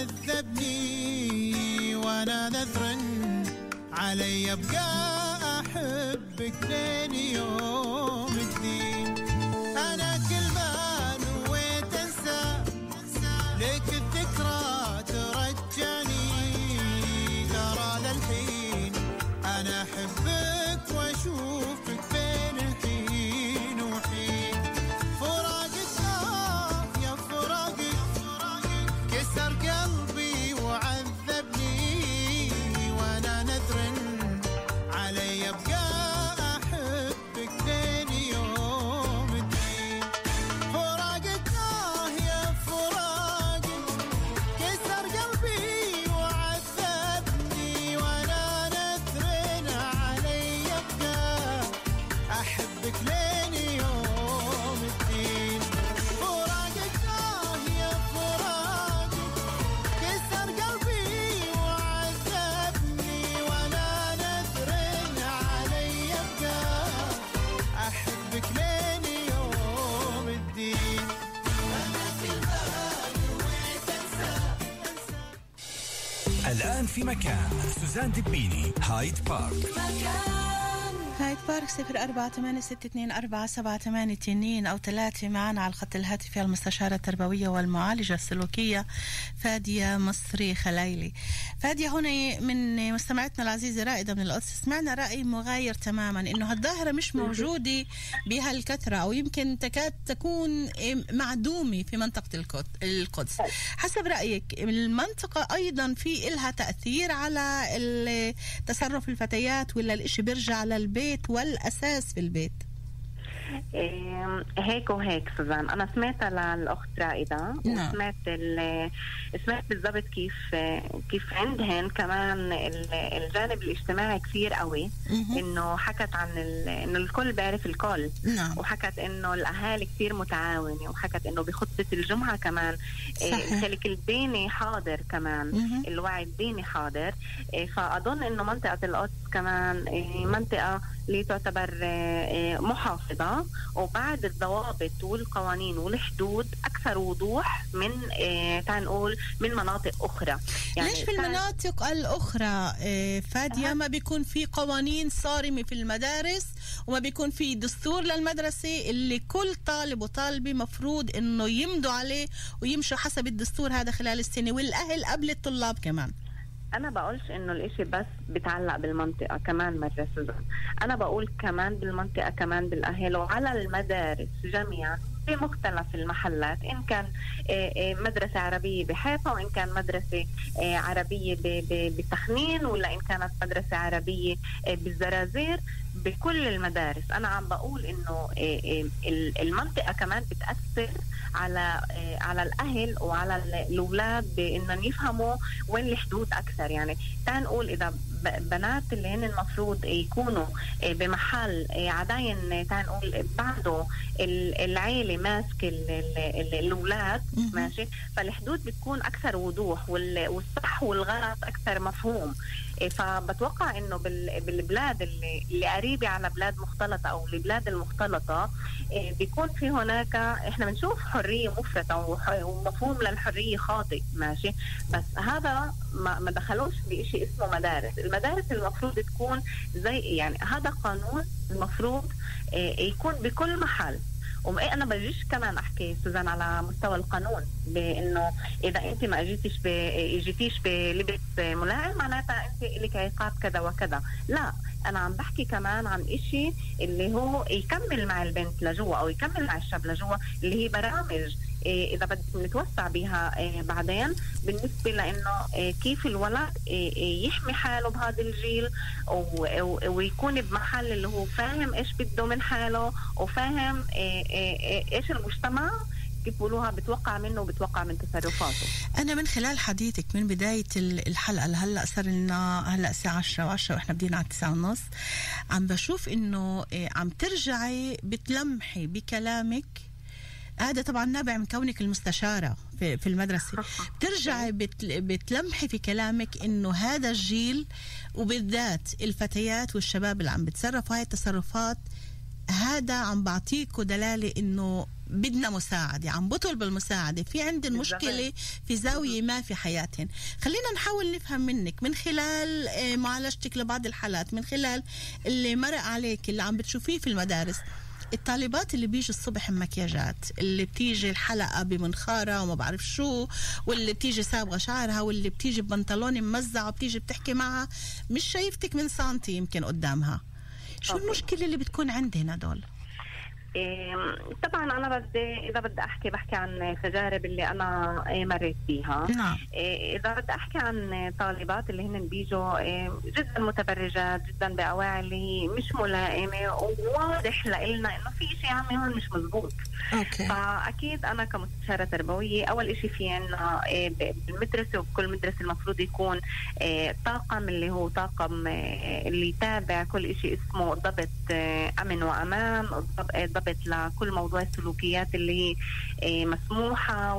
وعذبني، وأنا نذر علي أبقى أحبك لين يوم الدين. أنا كل ما نويت أنسى لك الذكرى ترجعني، ترى للحين أنا أحبك وأشوفك بين حين وحين. فراقك آه يا فراقك كسر قلبي وعذبني، وأنا نذر علي أبقى أحبك لين يوم الدين. فراقك آه يا فراقك كسر قلبي وعذبني، وأنا نذر علي أبقى أحبك لين يوم الدين. فراقك آه يا فراقك كسر قلبي وعذبني، وأنا نذر علي أبقى أحبك لين يوم الدين. الآن في مكان سوزان دبيني هايد بارك. هايد بارك صفر أربعة ثمانية ستة اثنين أربعة سبعة ثمانية اثنين أو ثلاثة. معنا على الخط الهاتفي المستشارة التربوية والمعالجة السلوكية فادية مصري خلايلي. فادية هنا من مستمعتنا العزيزة رائدة من القدس، سمعنا رأي مغاير تماما إنه هالظاهرة مش موجودة بهالكثرة أو يمكن تكاد تكون معدومة في منطقة القدس. حسب رأيك المنطقة أيضا في إلها تأثير على تصرف الفتيات ولا الإشي بيرجع للبيت والأساس في البيت؟ إيه هيك وهيك سوزان. أنا سمعت للأخت رائدة وسمعت سمعت بالضبط كيف كيف عندهن كمان الجانب الاجتماعي كثير قوي، إنه حكت عن إنه الكل بيعرف الكل نعم. وحكت إنه الأهالي كثير متعاونة، وحكت إنه بخطبة الجمعة كمان الخلق الديني حاضر كمان مه. الوعي الديني حاضر. فأظن إنه منطقة القدس كمان منطقة اللي تعتبر محافظة، وبعد الضوابط والقوانين والحدود أكثر وضوح من اه تعال نقول من مناطق أخرى. يعني ليش في المناطق الأخرى اه فادية أه. ما بيكون في قوانين صارمة في المدارس وما بيكون في دستور للمدرسة اللي كل طالب وطالبة مفروض إنه يمدوا عليه ويمشوا حسب الدستور هذا خلال السنة، والأهل قبل الطلاب كمان؟ أنا بقولش إنه الإشي بس بتعلق بالمنطقة، كمان مرة سوزان أنا بقول كمان بالمنطقة كمان بالأهل وعلى المدارس جميعا في مختلف المحلات، إن كان مدرسة عربية بحيفا وإن كان مدرسة عربية بتخنين ولا إن كانت مدرسة عربية بالزرازير، بكل المدارس. أنا عم بقول إنه المنطقة كمان بتأثر على على الأهل وعلى الأولاد بإنهم يفهموا وين الحدود أكثر. يعني تعال نقول إذا بنات اللي هن المفروض يكونوا بمحل عداين تعال نقول بعده العيلة ماسك الأولاد ماشي، فالحدود بتكون أكثر وضوح والصح والغلط أكثر مفهوم. فبتوقع إنه بالبلاد اللي, اللي قريبة على بلاد مختلطة أو البلاد المختلطة بيكون في هناك إحنا بنشوف حرية مفرطة ومفهوم للحرية خاطئ ماشي، بس هذا ما, ما دخلوش بإشي اسمه مدارس. المدارس المفروض تكون زي يعني هذا قانون المفروض يكون بكل محل. وما انا بجيش كمان احكي سوزان على مستوى القانون بانه اذا انت ما اجيتيش ب... اجيتيش بلبس ملائم معناتها انت لك عقاب كذا وكذا. لا، انا عم بحكي كمان عن اشي اللي هو يكمل مع البنت لجوا او يكمل مع الشاب لجوا، اللي هي برامج إذا بدنا نتوسع بها بعدين بالنسبة لأنه كيف الولد يحمي حاله بهذا الجيل ويكون بمحل اللي هو فاهم إيش بده من حاله وفاهم إيش المجتمع كيف بقولوها بتوقع منه وبتوقع من تصرفاته. أنا من خلال حديثك من بداية الحلقة لهلأ صار لنا هلأ الساعة عشرة وعشرة وإحنا بدينا على التسعة ونص، عم بشوف إنه عم ترجعي بتلمحي بكلامك. هذا طبعا نابع من كونك المستشارة في, في المدرسة. بترجعي بتلمحي في كلامك إنه هذا الجيل وبالذات الفتيات والشباب اللي عم بتصرفوا هاي التصرفات، هذا عم بعطيكوا دلالة إنه بدنا مساعدة، عم بطلب المساعدة، في عندنا مشكلة في زاوية ما في حياتهن. خلينا نحاول نفهم منك من خلال معالجتك لبعض الحالات، من خلال اللي مرق عليك اللي عم بتشوفيه في المدارس. الطالبات اللي بيجي الصبح مكياجات، اللي بتيجي الحلقة بمنخارة وما بعرف شو، واللي بتيجي سابغة شعرها، واللي بتيجي ببنطلون ممزع وبتيجي بتحكي معها مش شايفتك من سانتي يمكن قدامها، شو أوكي. المشكلة اللي بتكون عندنا دول؟ إيه طبعا انا بدي اذا بدي احكي بحكي عن تجارب اللي انا مريت فيها. نعم. إيه اذا بدي احكي عن طالبات اللي هن بيجوا إيه جدا متبرجات جدا باواعي اللي مش ملائمه وواضح لنا انه في شيء عمي هون مش مزبوط. اوكي. فاكيد انا كمستشاره تربويه اول شيء في عنا إيه بالمدرسه وبكل مدرسه المفروض يكون إيه طاقم اللي هو طاقم إيه اللي يتابع كل شيء اسمه ضبط إيه امن وامان، ضبط لكل موضوع السلوكيات اللي هي مسموحة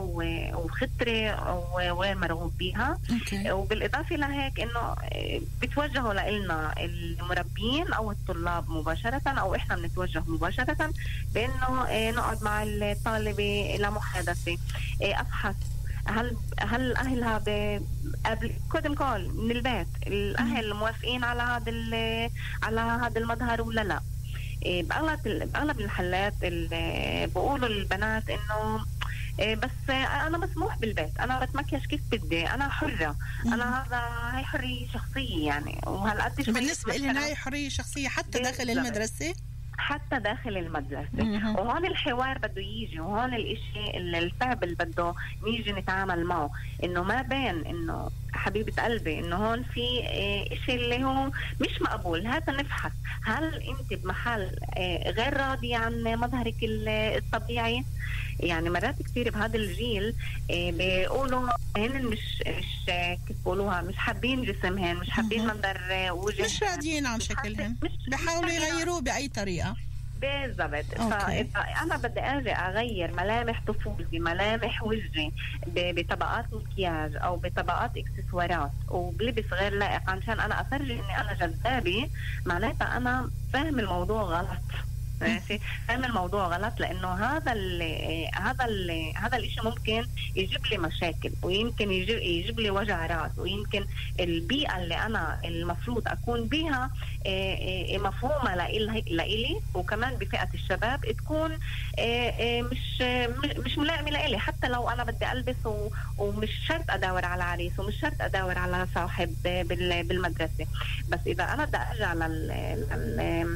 وخطرة وغير مرغوب بيها. okay. وبالإضافة لهيك إنه بتوجهوا لنا المربين أو الطلاب مباشرة أو إحنا بنتوجه مباشرة بإنه نقعد مع الطالبة لمحادثة، أفحص هل هل اهلها قبل قدم كول من البيت الاهل موافقين على هذا على هذا المظهر ولا لا. بأغلب بأغلب الحالات بقولوا للبنات إنه بس أنا مسموح بالبيت، أنا بتمكيش كيف بدي، أنا حرة، أنا هذا هاي حرية شخصية يعني. وهالقد بالنسبة لي هاي حرية شخصية حتى داخل المدرسة، حتى داخل المدرسة. وهون الحوار بده يجي، وهون الاشي الصعب اللي بده نيجي نتعامل معه، انه ما بين انه حبيبة قلبي انه هون في اشي اللي هو مش مقبول، هذا نفحص هل انت بمحل غير راضي عن مظهرك الطبيعي. يعني مرات كثير بهذا الجيل بيقولوا هن مش مش كيف بيقولوها مش حابين جسمهن، مش حابين منظر وجههن، مش راضيين عن شكلهن، بحاولوا يغيروه بأي طريقة. بالضبط. فإذا أنا بدي أجي أغير ملامح طفولتي، ملامح وجهي بطبقات مكياج أو بطبقات إكسسوارات وبلبس غير لائق عشان أنا أفرجي إني أنا جذابة، معناتها أنا فاهم الموضوع غلط. ماشي، فهم الموضوع غلط، لانه هذا ال هذا ال هذا الشيء ممكن يجيب لي مشاكل ويمكن يجيب, يجيب لي وجع راس، ويمكن البيئه اللي انا المفروض اكون بها مفهومه لإلي وكمان بفئه الشباب تكون مش مش ملائمه لإلي، حتى لو انا بدي البس ومش شرط ادور على عريس ومش شرط ادور على صاحب بالمدرسه. بس اذا انا بدي ارجع لل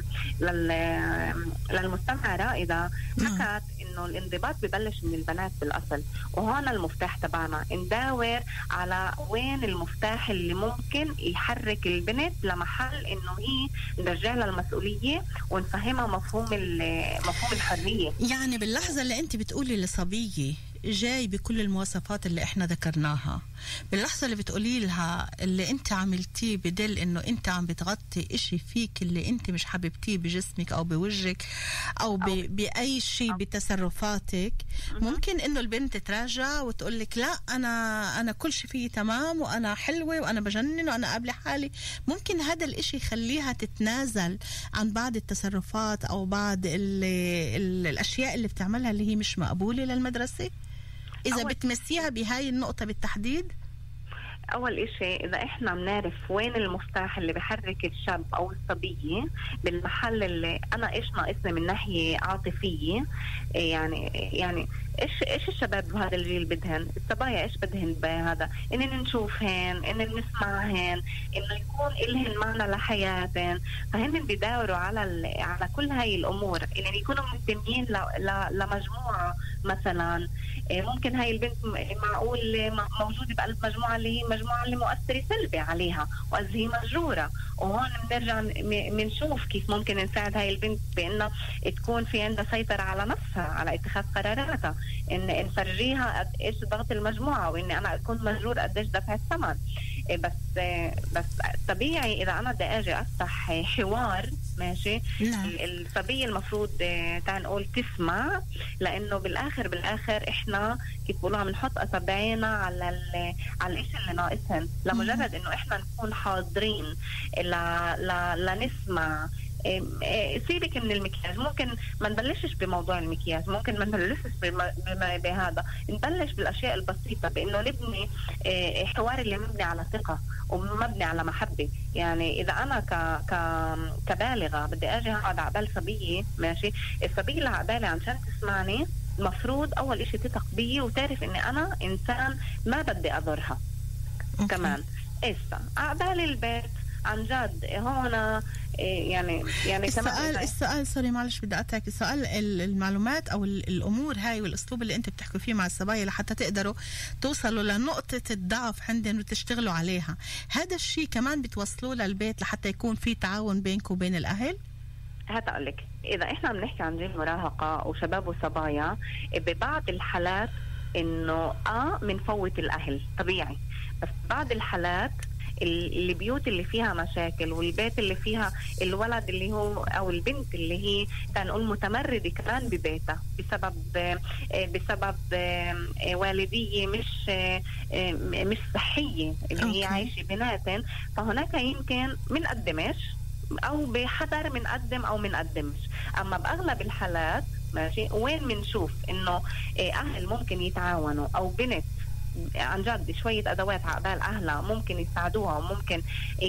لل للمستمع رائدة حكت انه الانضباط ببلش من البنات بالاصل، وهون المفتاح تبعنا نداور على وين المفتاح اللي ممكن يحرك البنت لمحل انه هي نرجع لها المسؤوليه ونفهمها مفهوم مفهوم الحريه. يعني باللحظه اللي انت بتقولي لصبيه جاي بكل المواصفات اللي احنا ذكرناها، باللحظة اللي بتقولي لها اللي انت عملتيه بدل انه انت عم بتغطي اشي فيك اللي انت مش حبيبتيه بجسمك او بوجهك او ب... باي شيء بتصرفاتك، ممكن انه البنت تراجع وتقول لك لا انا انا كل شيء فيه تمام وانا حلوة وانا بجنن وانا قابلة حالي. ممكن هذا الاشي يخليها تتنازل عن بعض التصرفات او بعض ال... ال... الاشياء اللي بتعملها اللي هي مش مقبولة للمدرسة، إذا بتمسيها بهاي النقطة بالتحديد. أول إشي إذا إحنا بنعرف وين المفتاح اللي بحرك الشاب أو الصبية بالمحل اللي أنا إيش ناقصني من ناحية عاطفية، يعني يعني إيش إيش الشباب بهذا الجيل بدهن، الصبايا إيش بدهن بهذا، إننا نشوفهن، إننا نسمعهن، إنه يكون إلهن معنا لحياتهن، فهن بيدوروا على على كل هاي الأمور، إنهم يكونوا منتمين لمجموعة مثلا. ممكن هاي البنت معقول موجودة بقلب مجموعة اللي هي مجموعة اللي مؤثرة سلبي عليها وإذ هي مجرورة، وهون بنرجع بنشوف كيف ممكن نساعد هاي البنت بأنها تكون في عندها سيطرة على نفسها، على اتخاذ قراراتها، إن نفرجيها قد إيش ضغط المجموعة وإني أنا أكون مجرور قد إيش دفع الثمن. بس بس طبيعي إذا أنا بدي أجي أفتح حوار ماشي، نعم. الصبية المفروض تعال نقول تسمع، لأنه بالآخر بالآخر إحنا كيف بقولوا عم نحط أصابعنا على ال على الإشي اللي ناقصهن، لمجرد إنه إحنا نكون حاضرين ل ل لنسمع. سيبك من المكياج، ممكن ما نبلشش بموضوع المكياج، ممكن ما نبلشش بهذا، نبلش بالأشياء البسيطة، بأنه نبني حوار اللي مبني على ثقة ومبني على محبة. يعني إذا أنا ك ك كبالغة بدي أجي أقعد عقبال صبية ماشي، الصبية اللي عقبالي عشان تسمعني المفروض أول إشي تثق بي وتعرف إني أنا إنسان ما بدي أضرها. أوكي. كمان إسا عقبال البيت عن جد هون يعني يعني السؤال كمان السؤال سوري معلش بدي أقطعك، السؤال المعلومات أو الأمور هاي والأسلوب اللي أنت بتحكوا فيه مع الصبايا لحتى تقدروا توصلوا لنقطة الضعف عندهم وتشتغلوا عليها، هذا الشيء كمان بتوصلوه للبيت لحتى يكون في تعاون بينكم وبين الأهل؟ هات أقول لك، إذا إحنا بنحكي عن جيل مراهقة وشباب وصبايا ببعض الحالات إنه آه منفوت الأهل طبيعي، بس بعض الحالات البيوت اللي فيها مشاكل والبيت اللي فيها الولد اللي هو او البنت اللي هي تنقول متمردة كمان ببيتها بسبب بسبب والدية مش مش صحية اللي هي عايشة بناتن، فهناك يمكن منقدمش او بحذر منقدم او منقدمش. اما باغلب الحالات ماشي وين منشوف انه اهل ممكن يتعاونوا او بنت عن جد شوية أدوات عقبال أهلها ممكن يساعدوها وممكن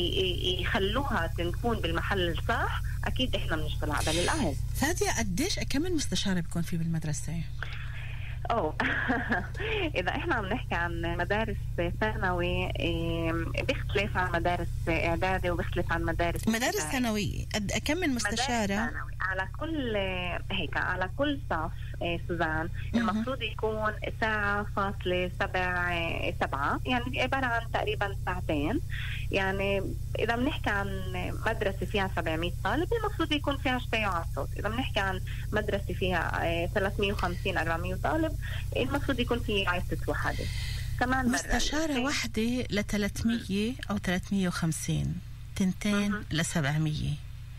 يخلوها تكون بالمحل الصح، أكيد إحنا بنشتغل عقبال الأهل. فادية قديش كم المستشارة بيكون في بالمدرسة؟ أوه إذا إحنا عم نحكي عن مدارس ثانوي بيختلف عن مدارس إعدادي وبيختلف عن مدارس مدارس ثانوية. كم من مستشارة؟ على كل هيك على كل صف سوزان المفروض يكون ساعة فاصلة سبع سبعة يعني عبارة عن تقريبا ساعتين. يعني إذا بنحكي عن مدرسة فيها سبعمية طالب المفروض يكون فيها شتي على الصوت. إذا بنحكي عن مدرسة فيها ثلاثمية وخمسين أربعمية طالب المفروض يكون فيها عدة وحدة. كمان مستشارة واحدة لثلاثمية أو ثلاثمية وخمسين تنتين لسبعمية.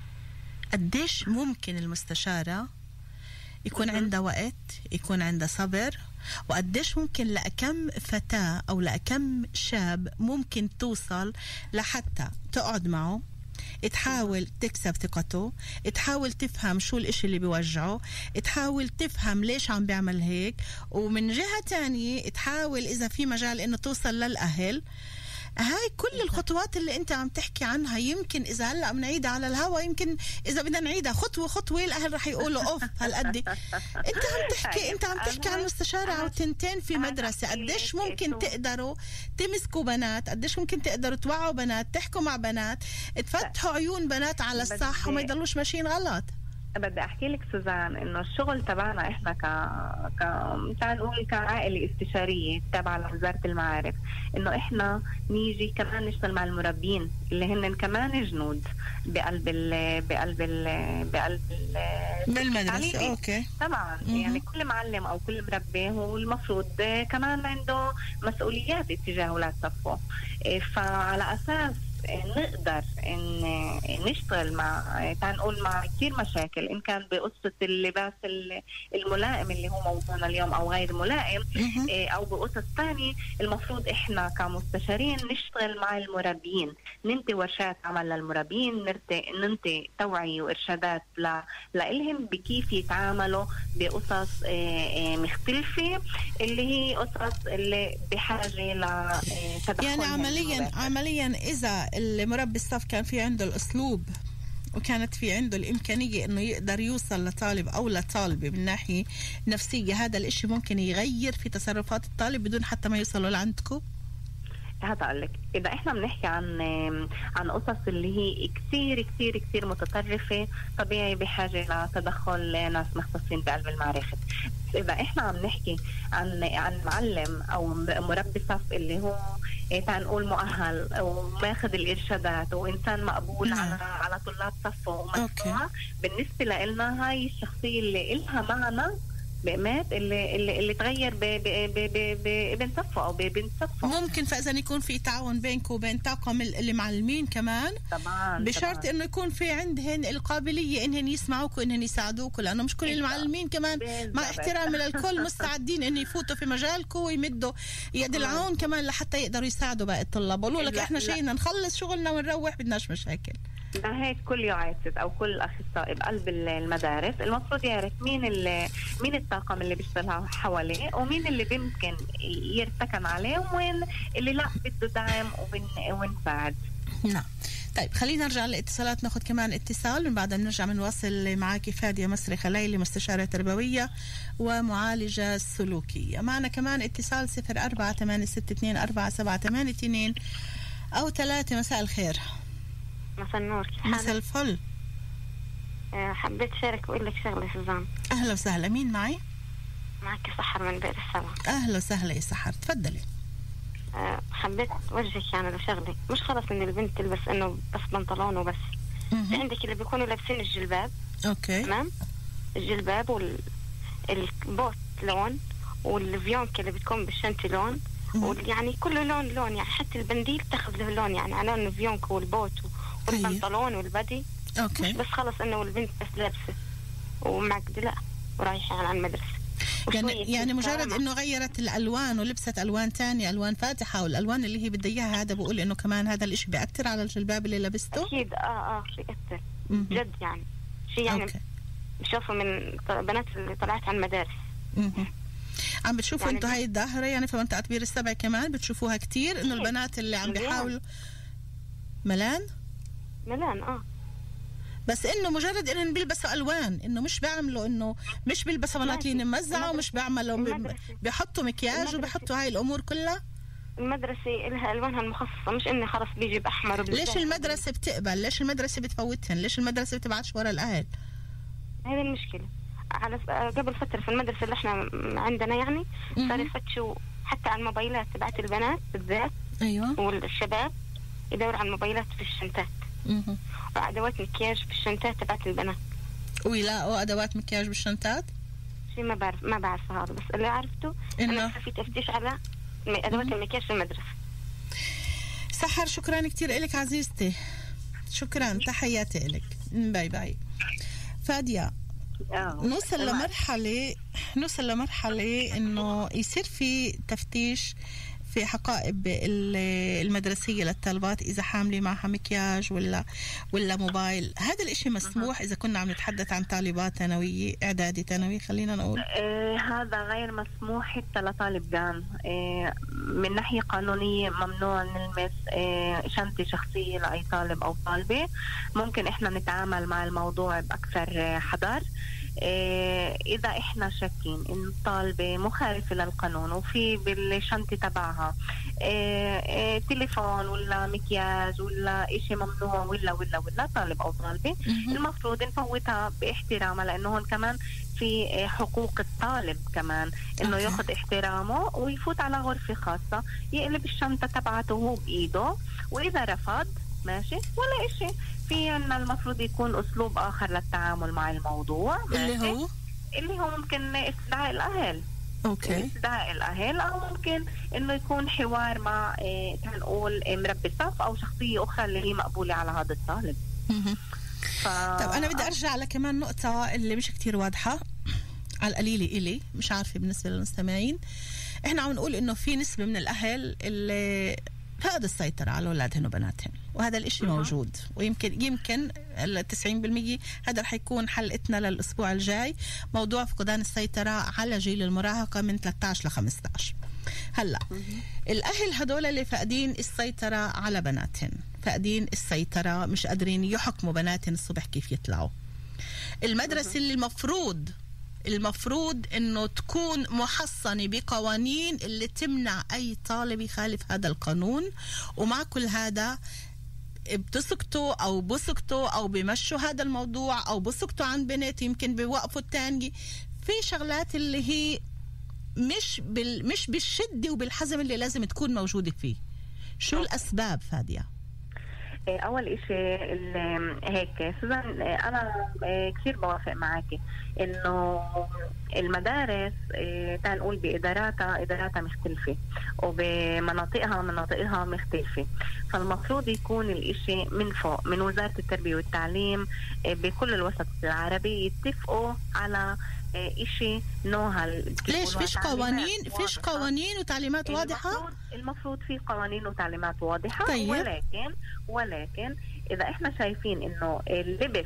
قديش ممكن المستشارة يكون عندها وقت، يكون عندها صبر، وقديش ممكن لأكم فتاة أو لأكم شاب ممكن توصل لحتى تقعد معه، تحاول تكسب ثقته، تحاول تفهم شو الاشي اللي بيوجعه، تحاول تفهم ليش عم بيعمل هيك، ومن جهة تانية تحاول إذا في مجال إنه توصل للأهل. هاي كل الخطوات اللي انت عم تحكي عنها يمكن اذا هلا بنعيدها على الهوا، يمكن اذا بدنا نعيدها خطوه خطوه الاهل رح يقولوا اوف هالقد. انت عم تحكي انت عم تحكي عن مستشاره او تنتين في مدرسه، قديش ممكن تقدروا تمسكوا بنات، قديش ممكن تقدروا توعوا بنات، تحكوا مع بنات، تفتحوا عيون بنات على الصح وما يضلوش ماشيين غلط. بدي احكي لك سوزان انه الشغل تبعنا احنا ك ك تعال نقول كعائله استشاريه تابعه لوزاره المعارف، انه احنا نيجي كمان نشتغل مع المربين اللي هن كمان جنود بقلب ال بقلب ال بقلب ال بالمدرسه. اوكي طبعا. م- يعني كل معلم او كل مربي هو المفروض كمان عنده مسؤوليات اتجاه اولاد صفه، فعلى اساس نقدر ان نشتغل مع تعال نقول مع كثير مشاكل، ان كان بقصه اللباس الملائم اللي هو موضوعنا اليوم او غير ملائم، او بقصص ثانيه. المفروض احنا كمستشارين نشتغل مع المربين، ننتي ورشات عمل للمربين، ننتي ننتي توعيه وارشادات ل لهم بكيف يتعاملوا بقصص مختلفه اللي هي قصص اللي بحاجه لتدخل. يعني عمليا عمليا اذا المربي الصف كان في عنده الأسلوب وكانت في عنده الإمكانية إنه يقدر يوصل لطالب أو لطالبة من ناحية نفسية، هذا الإشي ممكن يغير في تصرفات الطالب بدون حتى ما يوصلوا لعندكم. هذا أقول لك إذا إحنا بنحكي عن عن قصص اللي هي كثير كثير كثير متطرفة، طبيعي بحاجة لتدخل ناس مختصين بقلب المعرفة. إذا إحنا عم نحكي عن عن معلم أو مربي صف اللي هو تعال نقول مؤهل وماخذ الإرشادات وإنسان مقبول نعم. على على طلاب صفه ومسموع، بالنسبة لنا هاي الشخصية اللي إلها معنا بقمات اللي اللي اللي تغير بابن صفه او ببنت صفه. ممكن فاذا يكون في تعاون بينكم وبين طاقم اللي معلمين كمان طبعا، بشرط انه يكون في عندهن القابليه انهن يسمعوك وانهن يساعدوك، لانه مش كل المعلمين كمان مع احترامي للكل مستعدين ان يفوتوا في مجالكم ويمدوا يد العون كمان لحتى يقدروا يساعدوا باقي الطلاب. بقولوا لك احنا شيء نخلص شغلنا ونروح، بدناش مشاكل. لهيك كل يعاسس او كل الاخصائي بقلب المدارس المفروض يعرف مين مين الطاقم اللي بيشتغل حواليه ومين اللي بيمكن يرتكن عليه وين اللي لا بده دعم ونساعد. نعم. طيب خلينا نرجع للاتصالات، ناخذ كمان اتصال من بعدها بنرجع بنواصل معك. فادية مصري خليلي، مستشارة تربوية ومعالجة سلوكية. معنا كمان اتصال صفر أربعة ثمانية ستة اثنين أربعة سبعة ثمانية اثنين أو ثلاثة. مساء الخير. مساء النور. مساء الفل. أه حبيت شارك وأقول لك شغلة سوزان. أهلا وسهلا. مين معي؟ معك سحر من بئر السبع. أهلا وسهلا يا سحر، تفضلي. أه حبيت وجهك يعني لشغلة، مش خلص إن البنت تلبس إنه بس بنطلون وبس. في عندك اللي بيكونوا لابسين الجلباب. أوكي. تمام. الجلباب والبوت لون والفيونك اللي بتكون بالشنطة لون، ويعني كله لون لون، يعني حتى البنديل تاخذ له لون، يعني على لون الفيونك والبوت والبنطلون والبدي. اوكي. مش بس خلص انه البنت بس لابسه ومعقده، لا ورايحه على المدرسه. يعني يعني مجرد انه غيرت الالوان ولبست الوان تانية، الوان فاتحه والالوان اللي هي بدها اياها، هذا بقول انه كمان هذا الاشي بيأثر على الجلباب اللي لبسته. اكيد. اه اه بيأثر جد، يعني شيء يعني بشوفه من بنات اللي طلعت على المدارس. امم عم بتشوفوا يعني انتوا هاي الظاهرة يعني في منطقة بئر السبع كمان بتشوفوها كتير، انه البنات اللي عم بيحاولوا ملان ملان اه بس انه مجرد انهم بيلبسوا الوان، انه مش بيعملوا انه مش بيلبسوا بناطيل ممزعه ومش بيعملوا بيحطوا مكياج وبيحطوا هاي الامور كلها. المدرسه لها الوانها المخصصه، مش انه خلص بيجي باحمر. ليش المدرسه بتقبل؟ ليش المدرسه بتفوتهن؟ ليش المدرسه بتبعتش ورا الاهل؟ هذه المشكله. على قبل فتره في المدرسه اللي احنا عندنا يعني صار يفتشوا حتى على الموبايلات تبعت البنات بالذات. ايوه. والشباب يدوروا على الموبايلات في الشنطات. اها. وادوات مكياج في الشنطات تبعت البنات. ويلاقوا ادوات مكياج بالشنطات؟ شيء ما بعرف ما بعرف هذا، بس اللي عرفته انه في تفتيش على ادوات المكياج في المدرسه. سحر شكرا كثير لك عزيزتي، شكرا، تحياتي لك، باي باي. فادية، نوصل لمرحلة نوصل لمرحلة إنه يصير في تفتيش في حقائب المدرسية للطالبات إذا حاملة معها مكياج ولا ولا موبايل. هذا الإشي مسموح إذا كنا عم نتحدث عن طالبات ثانوية إعدادي ثانوي خلينا نقول. آه هذا غير مسموح حتى لطالب جان. آه من ناحية قانونية ممنوع نلمس آه شنطة شخصية لأي طالب أو طالبة. ممكن إحنا نتعامل مع الموضوع بأكثر حذر. إيه إذا إحنا شاكين إن الطالبة مخالفة للقانون وفي بالشنطة تبعها إيه إيه تليفون ولا مكياج ولا إشي ممنوع ولا ولا ولا طالب أو طالبة، المفروض نفوتها باحترامها، لأنه هون كمان في حقوق الطالب كمان إنه ياخد احترامه ويفوت على غرفة خاصة، يقلب الشنطة تبعته هو بإيده، وإذا رفض ماشي ولا إشي. في عنا المفروض يكون أسلوب آخر للتعامل مع الموضوع، اللي هو اللي هو ممكن استدعاء الأهل. أوكي. استدعاء الأهل، أو ممكن إنه يكون حوار مع إيه تنقول مربي صف أو شخصية أخرى اللي هي مقبولة على هذا الطالب. ف... طب أنا بدي أرجع على كمان نقطة اللي مش كتير واضحة على القليلة إلي، مش عارفة بالنسبة للمستمعين. إحنا عم نقول إنه في نسبة من الأهل اللي فقد السيطرة على أولادهن وبناتهن، وهذا الإشي موجود، ويمكن يمكن التسعين بالمية هذا رح يكون حلقتنا للأسبوع الجاي، موضوع فقدان السيطرة على جيل المراهقة من ثلاثة عشر ل خمسة عشر. هلا الأهل هدول اللي فاقدين السيطرة على بناتهن، فاقدين السيطرة، مش قادرين يحكموا بناتهن الصبح كيف يطلعوا. المدرسة اللي المفروض المفروض انه تكون محصنة بقوانين اللي تمنع اي طالب يخالف هذا القانون، ومع كل هذا بتسكتوا او بسكتوا او بمشوا هذا الموضوع او بسكتوا عن بنات، يمكن بيوقفوا التاني في شغلات اللي هي مش بال مش بالشدة وبالحزم اللي لازم تكون موجودة فيه. شو الاسباب فادية؟ أول إشي هيك سوزان، أنا كثير بوافق معاكي إنه المدارس تنقول بإداراتها إداراتها مختلفة وبمناطقها مناطقها مختلفة، فالمفروض يكون الإشي من فوق من وزارة التربية والتعليم بكل الوسط العربي يتفقوا على إشي نوها. ليش فيش قوانين فيش قوانين وتعليمات واضحة؟ المفروض, المفروض في قوانين وتعليمات واضحة. طيب. ولكن ولكن إذا إحنا شايفين إنه اللبس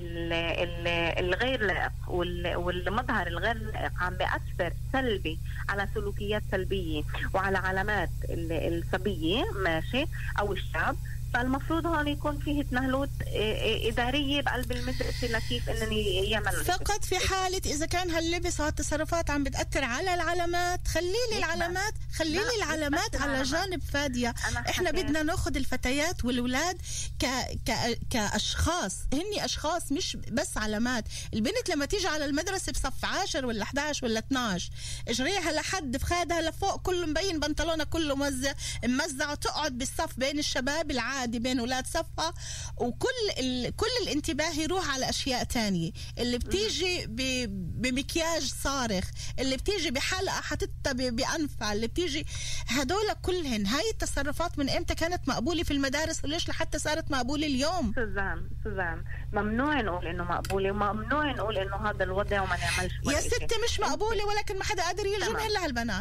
الغير لائق والمظهر الغير لائق عم بيأثر سلبي على سلوكيات سلبية وعلى علامات الصبية ماشي أو الشاب، فالمفروض هون يكون فيه تنهلوت إدارية بقلب المدرسة لكيف إنني يعمل فقط في حالة إذا كان هاللبس وهالتصرفات عم بتأثر على العلامات. خليلي العلامات خليلي العلامات على جانب فادية. إحنا بدنا ناخد الفتيات والولاد ك... ك... كأشخاص، هني أشخاص مش بس علامات. البنت لما تيجي على المدرسة بصف عشر ولا إحدى عشر ولا اثناشر اجريها لحد فخادها لفوق كله مبين بنطلونها كله موزع ممزع، وتقعد بالصف بين الشباب العادي بين أولاد صفها، وكل ال... كل الانتباه يروح على أشياء تانية. اللي بتيجي ب... بمكياج صارخ، اللي بتيجي بحلقة حتتها ب... بأنفها، اللي بتيجي هدول كلهن. هاي التصرفات من إمتى كانت مقبولة في المدارس وليش لحتى صارت مقبولة اليوم؟ سوزان سوزان ممنوع نقول إنه مقبولة وممنوع نقول إنه هذا الوضع وما نعملش يا ستي. مش مقبولة ولكن ما حدا قادر يلزم إلا هالبنات.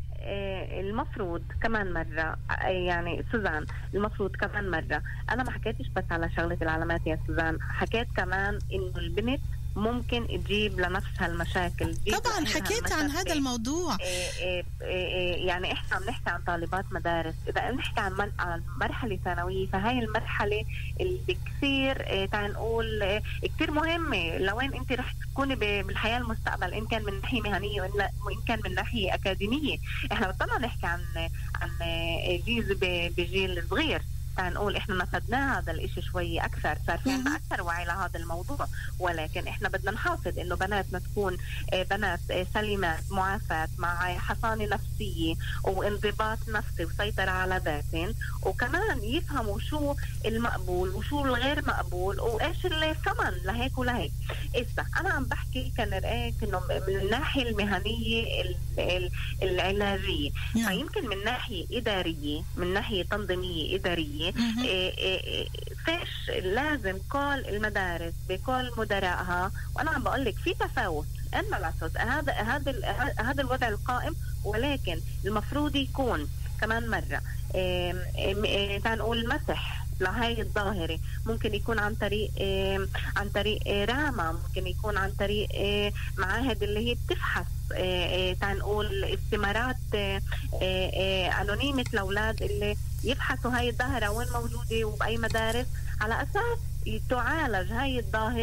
المفروض كمان مرة يعني سوزان المفروض كمان مرة أنا ما حكيتش بس على شغلة العلامات يا سوزان، حكيت كمان إنه البنت ممكن تجيب لنفسها المشاكل. طبعا حكيت عن هذا الموضوع. إيه إيه إيه يعني احنا عم نحكي عن طالبات مدارس، اذا نحكي عن عن مرحله ثانويه فهي المرحله اللي كثير إيه تعال نقول إيه كثير مهمه لوين انت رح تكوني بالحياه المستقبل، ان كان من ناحيه مهنيه وان كان من ناحيه اكاديميه. احنا بطلنا نحكي عن عن جيل بجيل صغير، نقول احنا نفذنا هذا الاشي شوي اكثر، صار في عندنا اكثر وعي لهذا الموضوع، ولكن احنا بدنا نحافظ انه بناتنا تكون بنات سليمات معافات مع حصانه نفسيه وانضباط نفسي وسيطره على ذاتهم، وكمان يفهموا شو المقبول وشو الغير مقبول وايش الثمن لهيك ولهيك. إسا انا عم بحكي كان رأيك انه من الناحيه المهنيه العلاجيه، فيمكن من ناحيه اداريه من ناحيه تنظيميه اداريه إيه إيه فيش لازم كل المدارس بكل مدراءها، وانا عم بقول لك في تفاوت ان الاساس هذا هذا هذا الوضع القائم، ولكن المفروض يكون كمان مره إيه إيه تعال نقول مسح لهاي الظاهرة. ممكن يكون عن طريق إيه عن طريق إيه راما، ممكن يكون عن طريق إيه معاهد اللي هي بتفحص إيه إيه تعال نقول استمارات إيه إيه أنونيمة الأولاد اللي يبحثوا هاي الظاهرة وين موجودة وبأي مدارس، على أساس تعالج هاي الظاهرة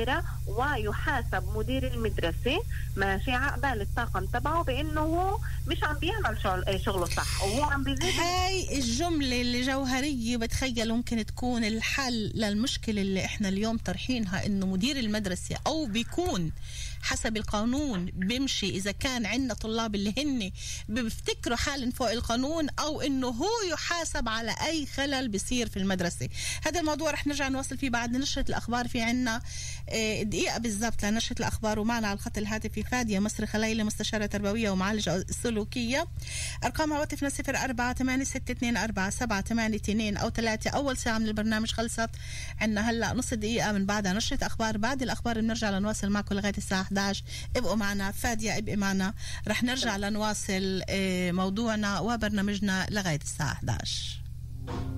ويحاسب مدير المدرسة ماشي عقبال الطاقم تبعه بأنه هو مش عم بيعمل شغل شغله صح وهو عم بيزيد. هاي الجملة اللي جوهرية بتخيل ممكن تكون الحل للمشكلة اللي احنا اليوم طرحينها، انه مدير المدرسة او بيكون حسب القانون بيمشي اذا كان عندنا طلاب اللي هن بيفتكروا حالا فوق القانون او انه هو يحاسب على اي خلل بيصير في المدرسة. هذا الموضوع رح نرجع نواصل فيه بعد نشرة الاخبار. في عنا دقيقة بالضبط لنشرة الاخبار، ومعنا على الخط الهاتفي فادية مصري خليلة مستشارة تربوية ومعالجة سلوكية. ارقام هواتفنا صفر أربعة ثمانية ستة اثنين أربعة سبعة ثمانية اثنين او ثلاثة. اول ساعة من البرنامج خلصت، عنا هلا نص دقيقة من بعدها نشرة اخبار. بعد الاخبار بنرجع لنواصل معكم لغاية الساعة إحدى عشر. ابقوا معنا فادية، ابقي معنا، رح نرجع لنواصل موضوعنا وبرنامجنا لغاية الساعة إحدى عشر.